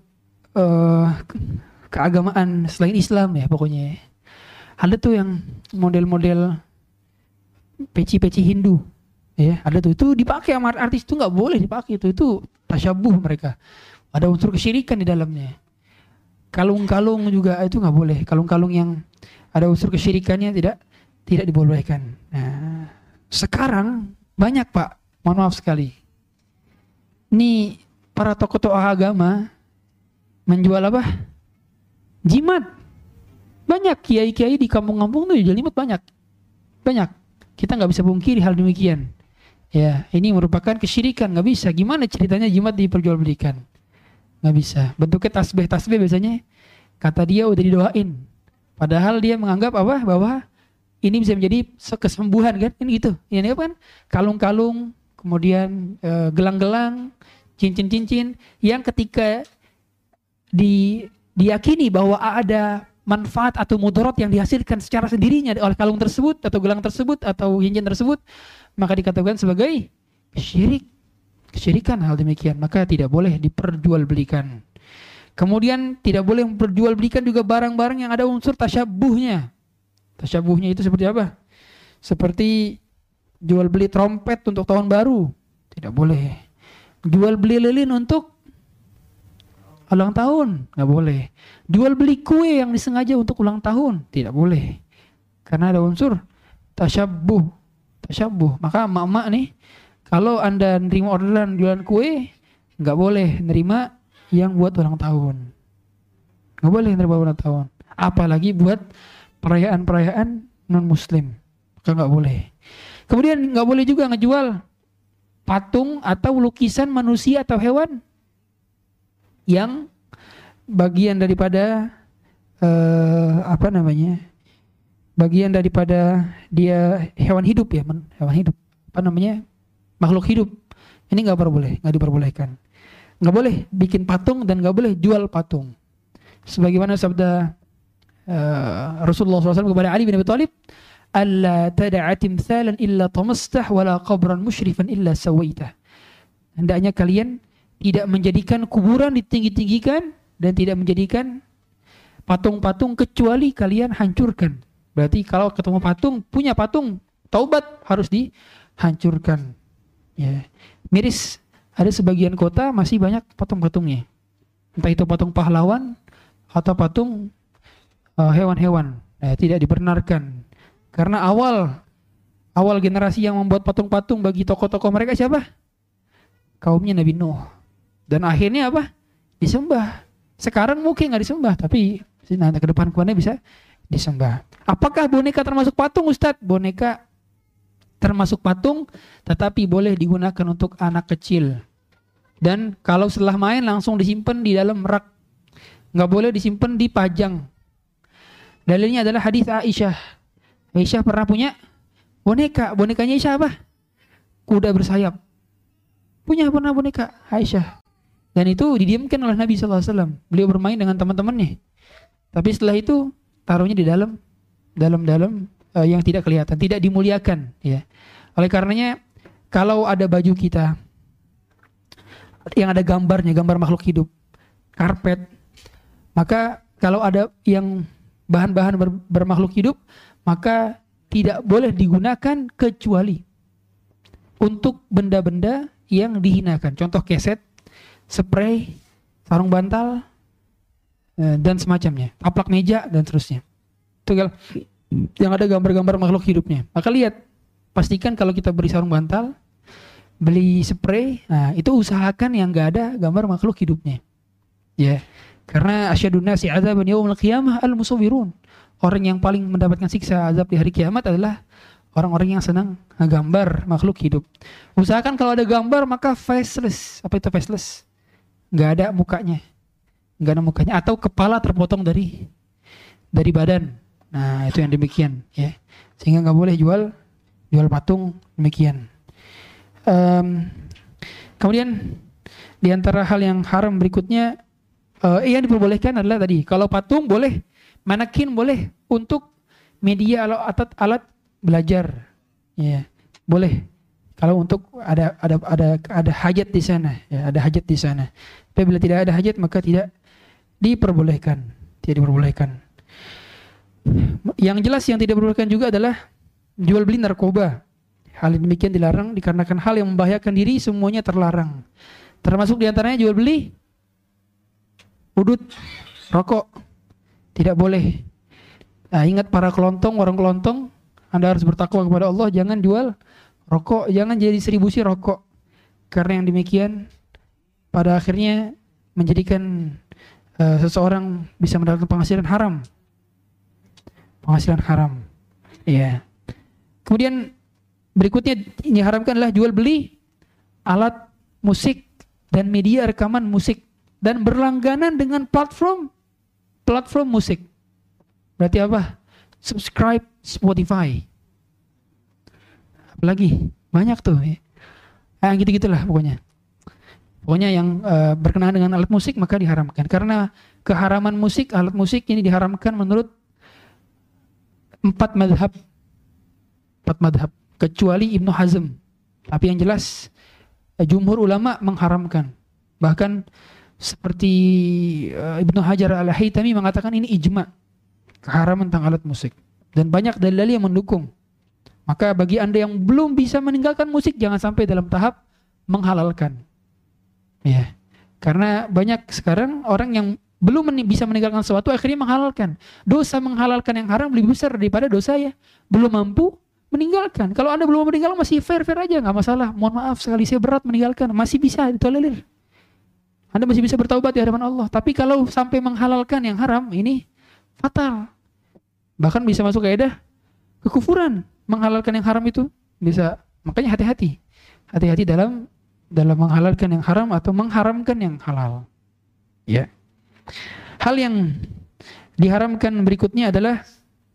keagamaan selain Islam ya pokoknya. Ada tuh yang model-model peci-peci Hindu, ya ada tuh, itu dipakai sama artis, itu nggak boleh dipakai, itu tasyabuh mereka, ada unsur kesyirikan di dalamnya. Kalung-kalung juga itu nggak boleh, kalung-kalung yang ada unsur kesyirikannya tidak dibolehkan. Nah sekarang banyak Pak, mohon maaf sekali, ini para tokoh-tokoh agama menjual apa? Jimat. Banyak kiai-kiai di kampung-kampung tuh jual jimat, banyak. Kita nggak bisa pungkiri hal demikian. Ya, ini merupakan kesyirikan, nggak bisa. Gimana ceritanya jimat diperjualbelikan? Nggak bisa. Bentuknya tasbih biasanya. Kata dia udah didoain. Padahal dia menganggap apa? Bahwa ini bisa menjadi kesembuhan kan? Ini gitu. Ini apa kan? Kalung-kalung, kemudian gelang-gelang, cincin-cincin yang ketika diyakini bahwa ada manfaat atau mudarat yang dihasilkan secara sendirinya oleh kalung tersebut atau gelang tersebut atau cincin tersebut, maka dikatakan sebagai kesyirikan hal demikian, maka tidak boleh diperjualbelikan. Kemudian tidak boleh memperjualbelikan juga barang-barang yang ada unsur tasyabuhnya. Tasyabuhnya itu seperti apa? Seperti jual beli trompet untuk tahun baru, tidak boleh. Jual beli lilin untuk ulang tahun, nggak boleh. Jual beli kue yang disengaja untuk ulang tahun, tidak boleh. Karena ada unsur tasyabuh. Maka emak-emak nih, kalau Anda nerima orderan jualan kue, nggak boleh nerima yang buat ulang tahun. Nggak boleh nerima ulang tahun. Apalagi buat perayaan-perayaan non-muslim, maka nggak boleh. Kemudian nggak boleh juga ngejual patung atau lukisan manusia atau hewan yang bagian daripada bagian daripada dia hewan hidup ya, hewan hidup, apa namanya, makhluk hidup. Ini nggak diperbolehkan. Nggak boleh bikin patung dan nggak boleh jual patung. Sebagaimana sabda Rasulullah SAW kepada Ali bin Abi Thalib, "Alla tad'a timthalan illa tamastah wala qabran musyrifan illa sawaitah." Hendaknya kalian tidak menjadikan kuburan ditinggi-tinggikan dan tidak menjadikan patung-patung kecuali kalian hancurkan. Berarti kalau ketemu patung, punya patung, taubat harus dihancurkan. Ya. Miris, ada sebagian kota masih banyak patung-patungnya. Entah itu patung pahlawan atau patung hewan-hewan. Tidak dibenarkan. Karena awal generasi yang membuat patung-patung bagi tokoh-tokoh mereka siapa? Kaumnya Nabi Nuh. Dan akhirnya apa? Disembah. Sekarang mungkin nggak disembah, tapi nanti ke depan kemudian bisa disembah. Apakah boneka termasuk patung, Ustadz? Boneka termasuk patung, tetapi boleh digunakan untuk anak kecil. Dan kalau setelah main langsung disimpan di dalam rak. Nggak boleh disimpan dipajang. Dalilnya adalah hadis Aisyah. Aisyah pernah punya boneka. Bonekanya Aisyah apa? Kuda bersayap. Pernah boneka Aisyah. Dan itu didiamkan oleh Nabi SAW. Beliau bermain dengan teman-temannya. Tapi setelah itu taruhnya di dalam yang tidak kelihatan, tidak dimuliakan. Ya. Oleh karenanya kalau ada baju kita yang ada gambarnya, gambar makhluk hidup, karpet, maka kalau ada yang bahan-bahan bermakhluk hidup, maka tidak boleh digunakan kecuali untuk benda-benda yang dihinakan. Contoh keset, spray, sarung bantal, dan semacamnya, taplak meja dan seterusnya. Itu kalau yang ada gambar-gambar makhluk hidupnya. Maka lihat, pastikan kalau kita beli sarung bantal, beli spray, nah itu usahakan yang enggak ada gambar makhluk hidupnya. Ya. Karena asyadun nasi adzaban yaumil qiyamah al-musawwirun. Orang yang paling mendapatkan siksa azab di hari kiamat adalah orang-orang yang senang gambar makhluk hidup. Usahakan kalau ada gambar maka faceless. Apa itu faceless? Enggak ada mukanya. Enggak ada mukanya atau kepala terpotong dari badan. Nah, itu yang demikian ya. Sehingga enggak boleh jual patung demikian. Kemudian di antara hal yang haram berikutnya yang diperbolehkan adalah tadi, kalau patung boleh, manekin boleh untuk media atau alat belajar. Ya, boleh. Kalau untuk ada hajat di sana, ya, ada hajat di sana. Tapi bila tidak ada hajat maka tidak diperbolehkan. Tidak diperbolehkan. Yang jelas yang tidak diperbolehkan juga adalah jual beli narkoba. Hal demikian dilarang dikarenakan hal yang membahayakan diri semuanya terlarang. Termasuk diantaranya jual beli udut, rokok. Tidak boleh. Nah, ingat para kelontong, warung kelontong, Anda harus bertakwa kepada Allah, jangan jual rokok, jangan jadi distribusi rokok. Karena yang demikian pada akhirnya menjadikan seseorang bisa mendapatkan penghasilan haram. Penghasilan haram. Iya. Kemudian berikutnya yang diharamkan adalah jual beli alat musik dan media rekaman musik dan berlangganan dengan platform musik. Berarti apa? Subscribe Spotify. Apalagi banyak tuh ya. Gitu-gitulah pokoknya. Pokoknya yang berkenaan dengan alat musik maka diharamkan. Karena keharaman musik, alat musik ini diharamkan menurut 4 madhab. Kecuali Ibnu Hazm. Tapi yang jelas jumhur ulama mengharamkan. Bahkan seperti Ibnu Hajar al-Haytami mengatakan ini ijma keharaman tentang alat musik. Dan banyak dalil yang mendukung. Maka bagi Anda yang belum bisa meninggalkan musik, jangan sampai dalam tahap menghalalkan. Ya. Karena banyak sekarang orang yang belum bisa meninggalkan sesuatu akhirnya menghalalkan. Dosa menghalalkan yang haram lebih besar daripada dosa ya belum mampu meninggalkan. Kalau Anda belum meninggalkan masih fair-fair aja, nggak masalah. Mohon maaf sekali saya berat meninggalkan, masih bisa ditolerir. Anda masih bisa bertaubat di hadapan Allah. Tapi kalau sampai menghalalkan yang haram, ini fatal. Bahkan bisa masuk kaidah kekufuran. Menghalalkan yang haram itu bisa. Makanya hati-hati. Hati-hati dalam menghalalkan yang haram atau mengharamkan yang halal. Ya. Hal yang diharamkan berikutnya adalah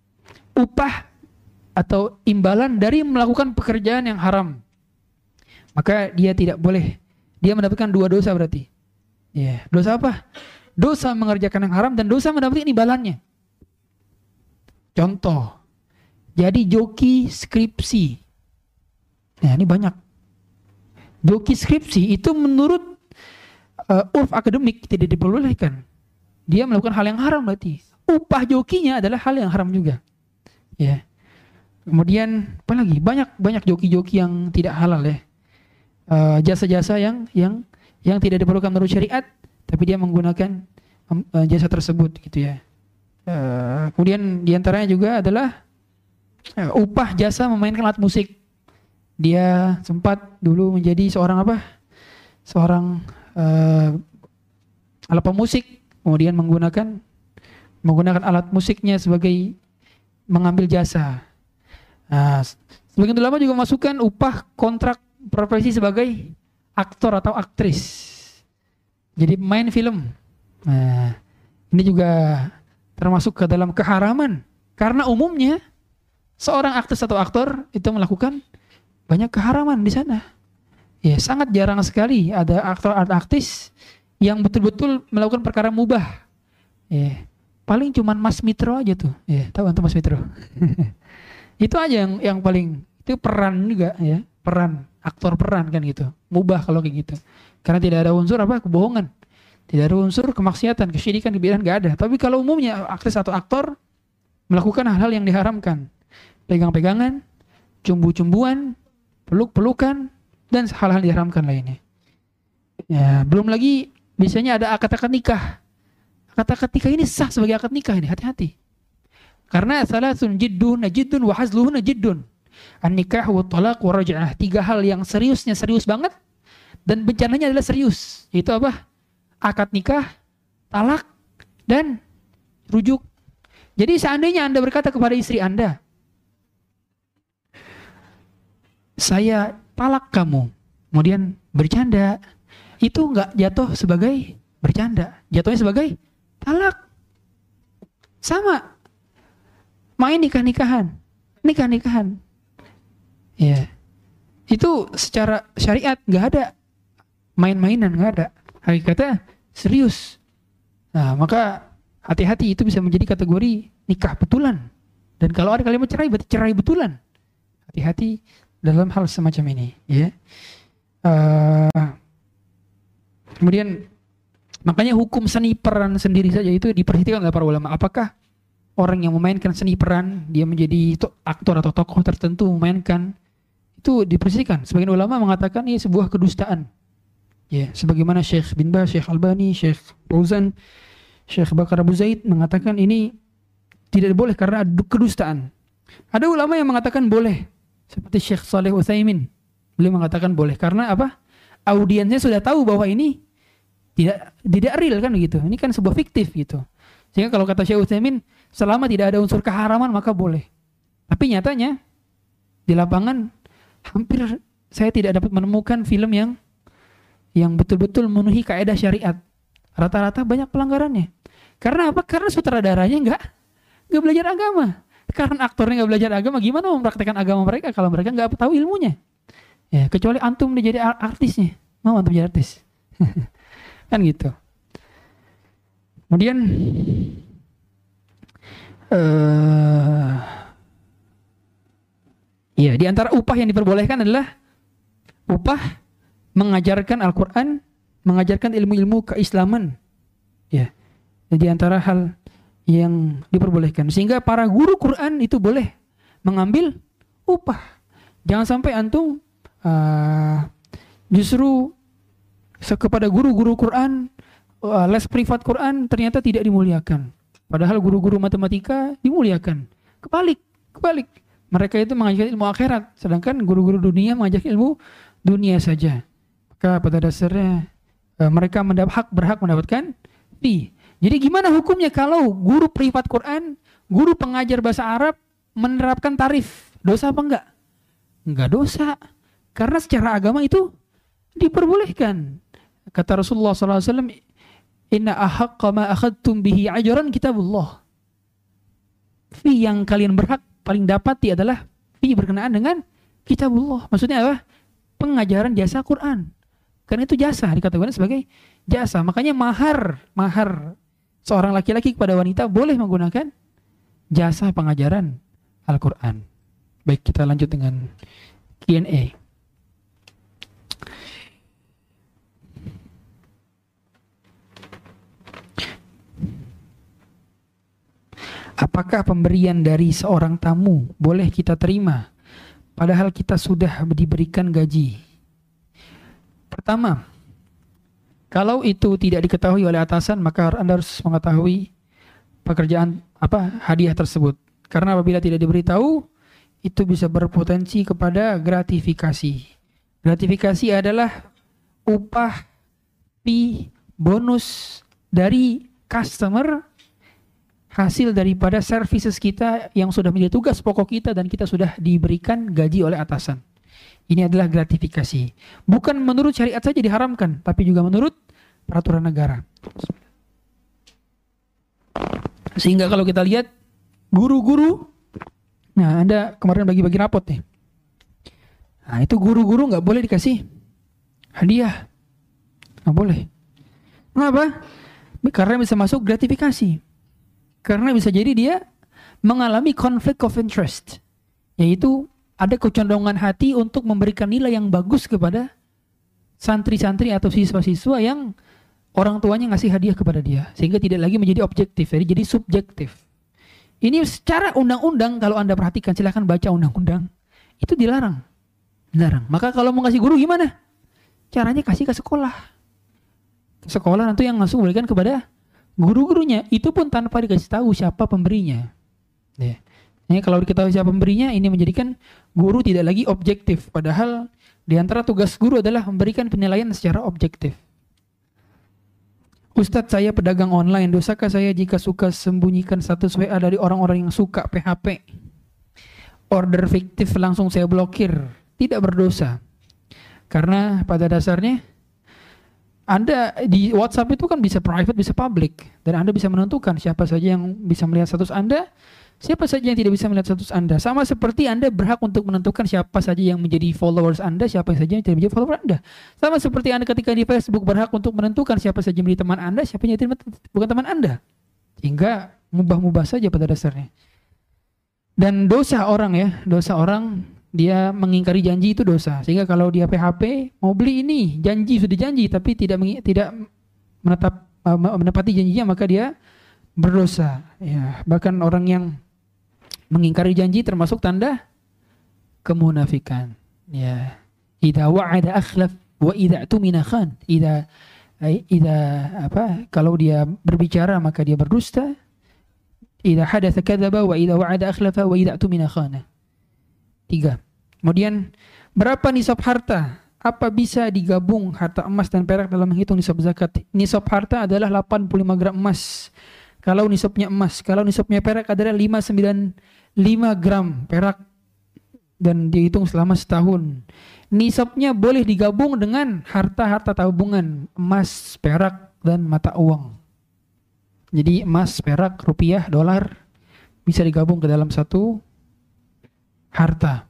upah atau imbalan dari melakukan pekerjaan yang haram. maka dia tidak boleh, dia mendapatkan 2 dosa berarti. Ya, dosa apa? Dosa mengerjakan yang haram dan dosa mendapatkan imbalannya. Contoh, jadi joki skripsi. Nah, ini banyak. Joki skripsi itu menurut urf akademik tidak diperbolehkan. Dia melakukan hal yang haram berarti. Upah jokinya adalah hal yang haram juga. Ya. Kemudian apa lagi? Banyak joki-joki yang tidak halal ya. Jasa-jasa yang tidak diperlukan menurut syariat, tapi dia menggunakan jasa tersebut gitu ya. Kemudian diantaranya juga adalah upah jasa memainkan alat musik. Dia sempat dulu menjadi seorang alat pemusik, kemudian menggunakan alat musiknya sebagai mengambil jasa. Nah, sebagian ulama juga masukkan upah kontrak profesi sebagai aktor atau aktris. Jadi pemain film. Nah, ini juga termasuk ke dalam keharaman. Karena umumnya seorang aktris atau aktor itu melakukan banyak keharaman di sana. Ya, sangat jarang sekali ada aktor atau aktris yang betul-betul melakukan perkara mubah. Ya, paling cuman Mas Mitro aja tuh. Ya, tahu antum Mas Mitro? Itu aja yang paling, itu peran juga ya, aktor peran kan gitu. Mubah kalau kayak gitu. Karena tidak ada unsur kebohongan. Tidak ada unsur kemaksiatan, kesyirikan, kebidahan, enggak ada. Tapi kalau umumnya aktris atau aktor melakukan hal-hal yang diharamkan. Pegang-pegangan, cumbu-cumbuan, peluk-pelukan, dan hal-hal diharamkan lainnya. Ya, belum lagi biasanya ada akad-akad nikah. Akad-akad nikah ini sah sebagai akad nikah ini, hati-hati. Karena salasun jiddun wa hazluhun jiddun. An-nikah wa talaq wa raj'ah. 3 hal yang seriusnya serius banget dan bencananya adalah serius. Itu apa? Akad nikah, talak, dan rujuk. Jadi seandainya Anda berkata kepada istri Anda, saya talak kamu, kemudian bercanda, itu enggak jatuh sebagai bercanda, jatuhnya sebagai talak. Sama. Main nikah-nikahan. Ya. Itu secara syariat enggak ada main-mainan, enggak ada. Hakikatnya serius. Nah, maka hati-hati, itu bisa menjadi kategori nikah betulan. Dan kalau ada kalimat cerai, berarti cerai betulan. Hati-hati dalam hal semacam ini, ya. Kemudian makanya hukum seni peran sendiri saja itu diperhatikan oleh para ulama. Apakah orang yang memainkan seni peran, dia menjadi aktor atau tokoh tertentu memainkan, itu diperhatikan. Sebagian ulama mengatakan ini sebuah kedustaan. Ya, sebagaimana Syekh bin Baz, Syekh Albani, Syekh Fauzan, Syekh Bakar Abu Zaid mengatakan ini tidak boleh karena kedustaan. Ada ulama yang mengatakan boleh, seperti Syekh Saleh Utsaimin. Beliau mengatakan boleh karena apa? Audiensnya sudah tahu bahwa ini tidak real kan gitu. Ini kan sebuah fiktif gitu. Sehingga kalau kata Syekh Utsaimin, selama tidak ada unsur keharaman maka boleh. Tapi nyatanya di lapangan hampir saya tidak dapat menemukan film yang betul-betul memenuhi kaidah syariat. Rata-rata banyak pelanggarannya. Karena apa? Karena sutradaranya enggak belajar agama. Karena aktornya enggak belajar agama, gimana mau mempraktekkan agama mereka kalau mereka enggak tahu ilmunya? Ya, kecuali antum jadi artisnya. Mau antum jadi artis? Kan gitu. Kemudian ya, di antara upah yang diperbolehkan adalah upah mengajarkan Al-Quran, mengajarkan ilmu-ilmu keislaman. Ya, di antara hal yang diperbolehkan. Sehingga para guru Quran itu boleh mengambil upah. Jangan sampai antum justru kepada guru-guru Quran, les privat Quran ternyata tidak dimuliakan. Padahal guru-guru matematika dimuliakan. Kebalik. Mereka itu mengajarkan ilmu akhirat, sedangkan guru-guru dunia mengajarkan ilmu dunia saja. Maka pada dasarnya mereka berhak mendapatkan fee. Jadi gimana hukumnya kalau guru privat Quran, guru pengajar bahasa Arab menerapkan tarif? Dosa apa enggak? Enggak dosa. Karena secara agama itu diperbolehkan. Kata Rasulullah SAW, inna ahaqqa ma akhadtum bihi ajran kitabullah. Fee yang kalian berhak paling dapati adalah fee berkenaan dengan kitabullah. Maksudnya apa? pengajaran jasa Quran. Karena itu jasa, dikatakan sebagai jasa. Makanya mahar seorang laki-laki kepada wanita boleh menggunakan jasa pengajaran Al-Quran. Baik, kita lanjut dengan Q&A. Apakah pemberian dari seorang tamu boleh kita terima padahal kita sudah diberikan gaji? Pertama, kalau itu tidak diketahui oleh atasan, maka Anda harus mengetahui pekerjaan hadiah tersebut. Karena apabila tidak diberitahu, itu bisa berpotensi kepada gratifikasi. Gratifikasi adalah upah, fee, bonus dari customer, hasil daripada services kita yang sudah menjadi tugas pokok kita dan kita sudah diberikan gaji oleh atasan. Ini adalah gratifikasi. Bukan menurut syariat saja diharamkan, tapi juga menurut peraturan negara. Sehingga kalau kita lihat guru-guru, nah Anda kemarin bagi-bagi rapot nih. Nah itu guru-guru nggak boleh dikasih hadiah, nggak boleh. Kenapa? Karena bisa masuk gratifikasi. Karena bisa jadi dia mengalami conflict of interest, yaitu ada kecenderungan hati untuk memberikan nilai yang bagus kepada santri-santri atau siswa-siswa yang orang tuanya ngasih hadiah kepada dia, sehingga tidak lagi menjadi objektif, jadi subjektif. Ini secara undang-undang, kalau Anda perhatikan, silahkan baca undang-undang, itu dilarang. Maka kalau mau kasih guru gimana? Caranya kasih ke sekolah. Sekolah nanti yang langsung berikan kepada guru-gurunya, itu pun tanpa dikasih tahu siapa pemberinya. Ya. Nah, kalau diketahui siapa pemberinya, ini menjadikan guru tidak lagi objektif. Padahal di antara tugas guru adalah memberikan penilaian secara objektif. Ustadz, saya pedagang online, dosakah saya jika suka sembunyikan status WA dari orang-orang yang suka PHP? Order fiktif langsung saya blokir. Tidak berdosa. Karena pada dasarnya Anda di WhatsApp itu kan bisa private, bisa public. Dan Anda bisa menentukan siapa saja yang bisa melihat status Anda, siapa saja yang tidak bisa melihat status Anda. Sama seperti Anda berhak untuk menentukan siapa saja yang menjadi followers Anda, siapa saja yang tidak menjadi follower Anda. Sama seperti Anda ketika di Facebook berhak untuk menentukan siapa saja yang menjadi teman Anda, siapa yang bukan teman Anda. Hingga mubah-mubah saja pada dasarnya. Dan dosa orang dia mengingkari janji itu dosa. Sehingga kalau dia PHP mau beli ini, sudah janji tapi tidak menepati janjinya, maka dia berdosa. Ya, bahkan orang yang mengingkari janji termasuk tanda kemunafikan. Ya, idza wa'ada akhlaf wa idza tumina khan. Kalau dia berbicara maka dia berdusta. Idza hadatsa kadzaba wa idza wa'ada akhlafa wa idza tumina khana. 3. Kemudian, berapa nisab harta? Apa bisa digabung harta emas dan perak dalam menghitung nisab zakat? Nisab harta adalah 85 gram emas. Kalau nisabnya emas, kalau nisabnya perak adalah 595 gram perak dan dihitung selama setahun. Nisabnya boleh digabung dengan harta-harta tabungan, emas, perak, dan mata uang. Jadi emas, perak, rupiah, dolar bisa digabung ke dalam satu harta.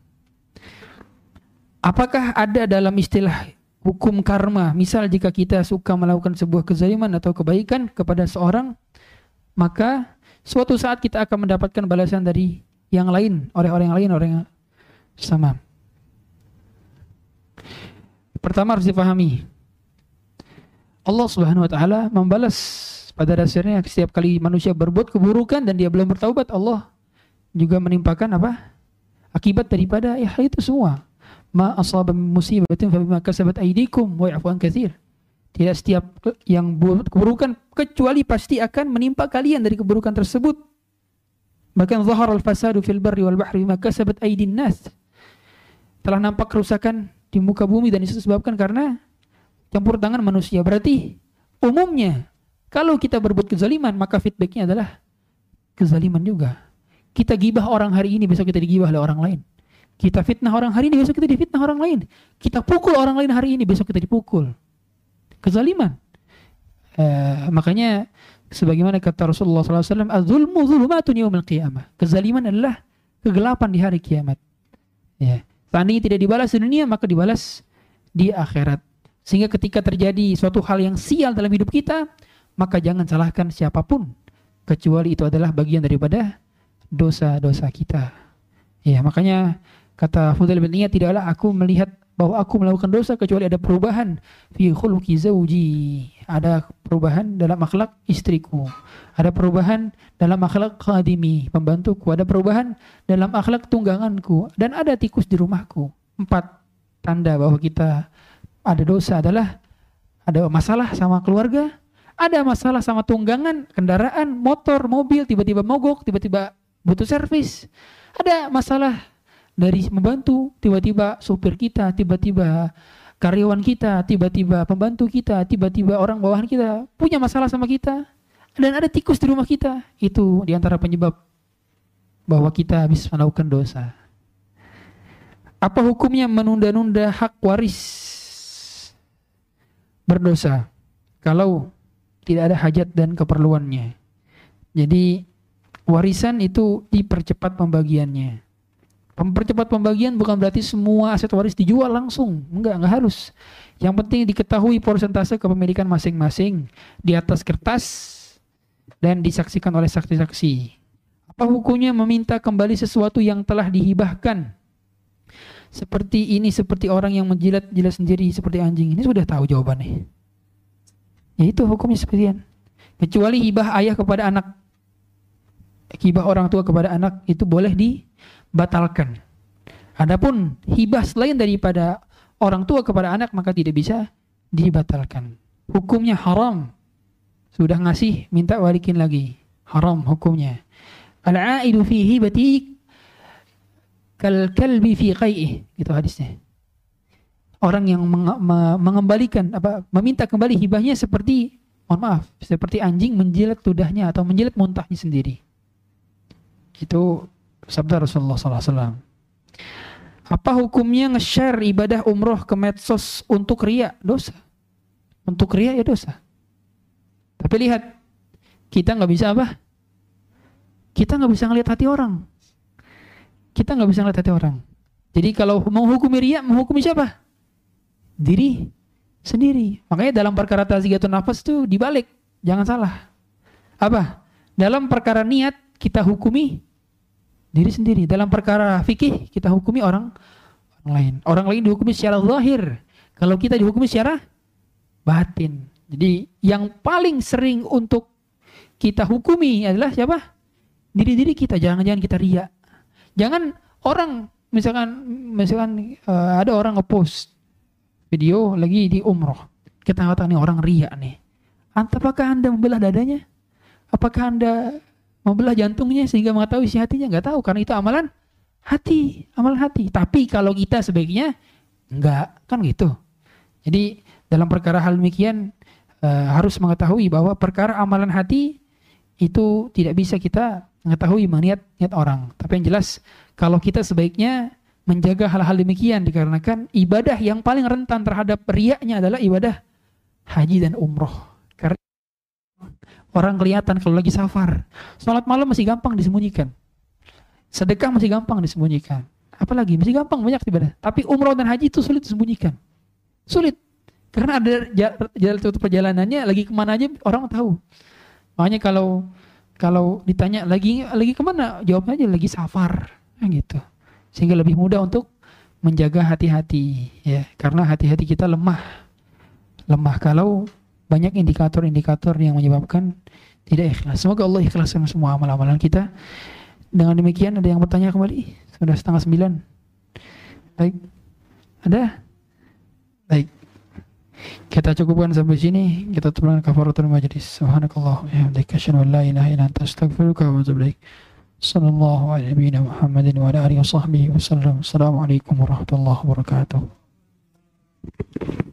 Apakah ada dalam istilah hukum karma, misal jika kita suka melakukan sebuah kezaliman atau kebaikan kepada seorang, maka suatu saat kita akan mendapatkan balasan dari yang lain, oleh orang yang lain, orang yang sama. Pertama harus dipahami, Allah Subhanahu wa taala membalas pada dasarnya setiap kali manusia berbuat keburukan dan dia belum bertaubat, Allah juga menimpakan akibat daripada hal itu semua. Ma asaba musibatin fa bima kasabat aydikum wa ya'fu an katsir. Tidak setiap yang buat keburukan kecuali pasti akan menimpa kalian dari keburukan tersebut. Bahkan zahara al-fasadu fil barri wal bahri bima kasabat aydin nas. Telah nampak kerusakan di muka bumi dan itu disebabkan karena campur tangan manusia. Berarti umumnya kalau kita berbuat kezaliman maka feedbacknya adalah kezaliman juga. Kita gibah orang hari ini, besok kita digibah oleh orang lain. Kita fitnah orang hari ini, besok kita difitnah orang lain. Kita pukul orang lain hari ini, besok kita dipukul. Kezaliman. Makanya sebagaimana kata Rasulullah SAW, az-zulmu zulumatun yaumil qiyamah. Kezaliman adalah kegelapan di hari kiamat. Ya. Seandainya tidak dibalas di dunia, maka dibalas di akhirat. Sehingga ketika terjadi suatu hal yang sial dalam hidup kita, maka jangan salahkan siapapun, kecuali itu adalah bagian daripada dosa-dosa kita. Ya, makanya kata Fudail bin Iyad, tidaklah aku melihat bahwa aku melakukan dosa kecuali ada perubahan fi khuluqi zauji, ada perubahan dalam akhlak istriku, ada perubahan dalam akhlak khadimi, pembantuku, ada perubahan dalam akhlak tungganganku, dan ada tikus di rumahku. 4 tanda bahwa kita ada dosa adalah ada masalah sama keluarga, ada masalah sama tunggangan, kendaraan, motor, mobil, tiba-tiba mogok, tiba-tiba butuh servis. Ada masalah dari membantu, tiba-tiba supir kita, tiba-tiba karyawan kita, tiba-tiba pembantu kita, tiba-tiba orang bawahan kita punya masalah sama kita. Dan ada tikus di rumah kita. Itu diantara penyebab bahwa kita habis melakukan dosa. Apa hukumnya menunda-nunda hak waris? Berdosa kalau tidak ada hajat dan keperluannya. Jadi warisan itu dipercepat pembagiannya. Mempercepat pembagian bukan berarti semua aset waris dijual langsung. Enggak harus. Yang penting diketahui persentase kepemilikan masing-masing di atas kertas dan disaksikan oleh saksi-saksi. Apa hukumnya meminta kembali sesuatu yang telah dihibahkan? Seperti ini, seperti orang yang menjilat-jilat sendiri seperti anjing. Ini sudah tahu jawabannya. Ya itu hukumnya seperti ini. Kecuali hibah ayah kepada anak, hibah orang tua kepada anak itu boleh dibatalkan. Adapun hibah selain daripada orang tua kepada anak maka tidak bisa dibatalkan. Hukumnya haram. Sudah ngasih minta balikin lagi. Haram hukumnya. Al-aidu fi hibati kal kalbi fi qai'ih, gitu hadisnya. Orang yang mengembalikan meminta kembali hibahnya seperti, mohon maaf, seperti anjing menjilat ludahnya atau menjilat muntahnya sendiri. Itu sabda Rasulullah SAW. Apa hukumnya nge-share ibadah umroh ke medsos untuk riya? Dosa. Untuk riya ya dosa. Tapi lihat, kita nggak bisa apa? Kita nggak bisa ngelihat hati orang. Kita nggak bisa ngelihat hati orang. Jadi kalau menghukumi riya, menghukumi siapa? Diri sendiri. Makanya dalam perkara tazkiyatun nafas itu dibalik. Jangan salah. Apa? Dalam perkara niat kita hukumi diri sendiri. Dalam perkara fikih kita hukumi orang lain. Orang lain dihukumi secara zahir. Kalau kita dihukumi secara batin. Jadi yang paling sering untuk kita hukumi adalah siapa? Diri-diri kita. Jangan-jangan kita riya. Jangan orang misalkan ada orang ngepost video lagi di umroh. Kita katakan nih orang riya nih. Apakah Anda membelah dadanya? Apakah Anda membelah jantungnya sehingga mengetahui isi hatinya? Nggak tahu, karena itu amalan hati, amalan hati. Tapi kalau kita sebaiknya enggak, kan gitu. Jadi dalam perkara hal demikian harus mengetahui bahwa perkara amalan hati itu tidak bisa kita mengetahui niat orang. Tapi yang jelas kalau kita sebaiknya menjaga hal-hal demikian dikarenakan ibadah yang paling rentan terhadap riyanya adalah ibadah haji dan umroh. Karena orang kelihatan kalau lagi safar. Salat malam masih gampang disembunyikan. Sedekah masih gampang disembunyikan. Apalagi masih gampang banyak ibadah. Tapi umroh dan haji itu sulit disembunyikan. Sulit. Karena ada jalan perjalanannya lagi kemana aja orang tahu. Makanya kalau ditanya lagi kemana, jawabnya aja lagi safar, gitu. Sehingga lebih mudah untuk menjaga hati-hati, ya. Karena hati-hati kita lemah kalau banyak indikator-indikator yang menyebabkan tidak ikhlas. Semoga Allah ikhlaskan semua amal-amalan kita. Dengan demikian ada yang bertanya kembali? Sudah 8:30. Baik, ada? Baik. Kita cukupkan sampai sini. Kita tutup dengan kafaratul majlis. Subhanakallah wa bihamdika asyhadu an la ilaha illa anta astaghfiruka wa atubu ilaik. Sallallahu alaihi Muhammadin wa ala alihi wa sahbihi wasallam. Assalamualaikum warahmatullahi wabarakatuh.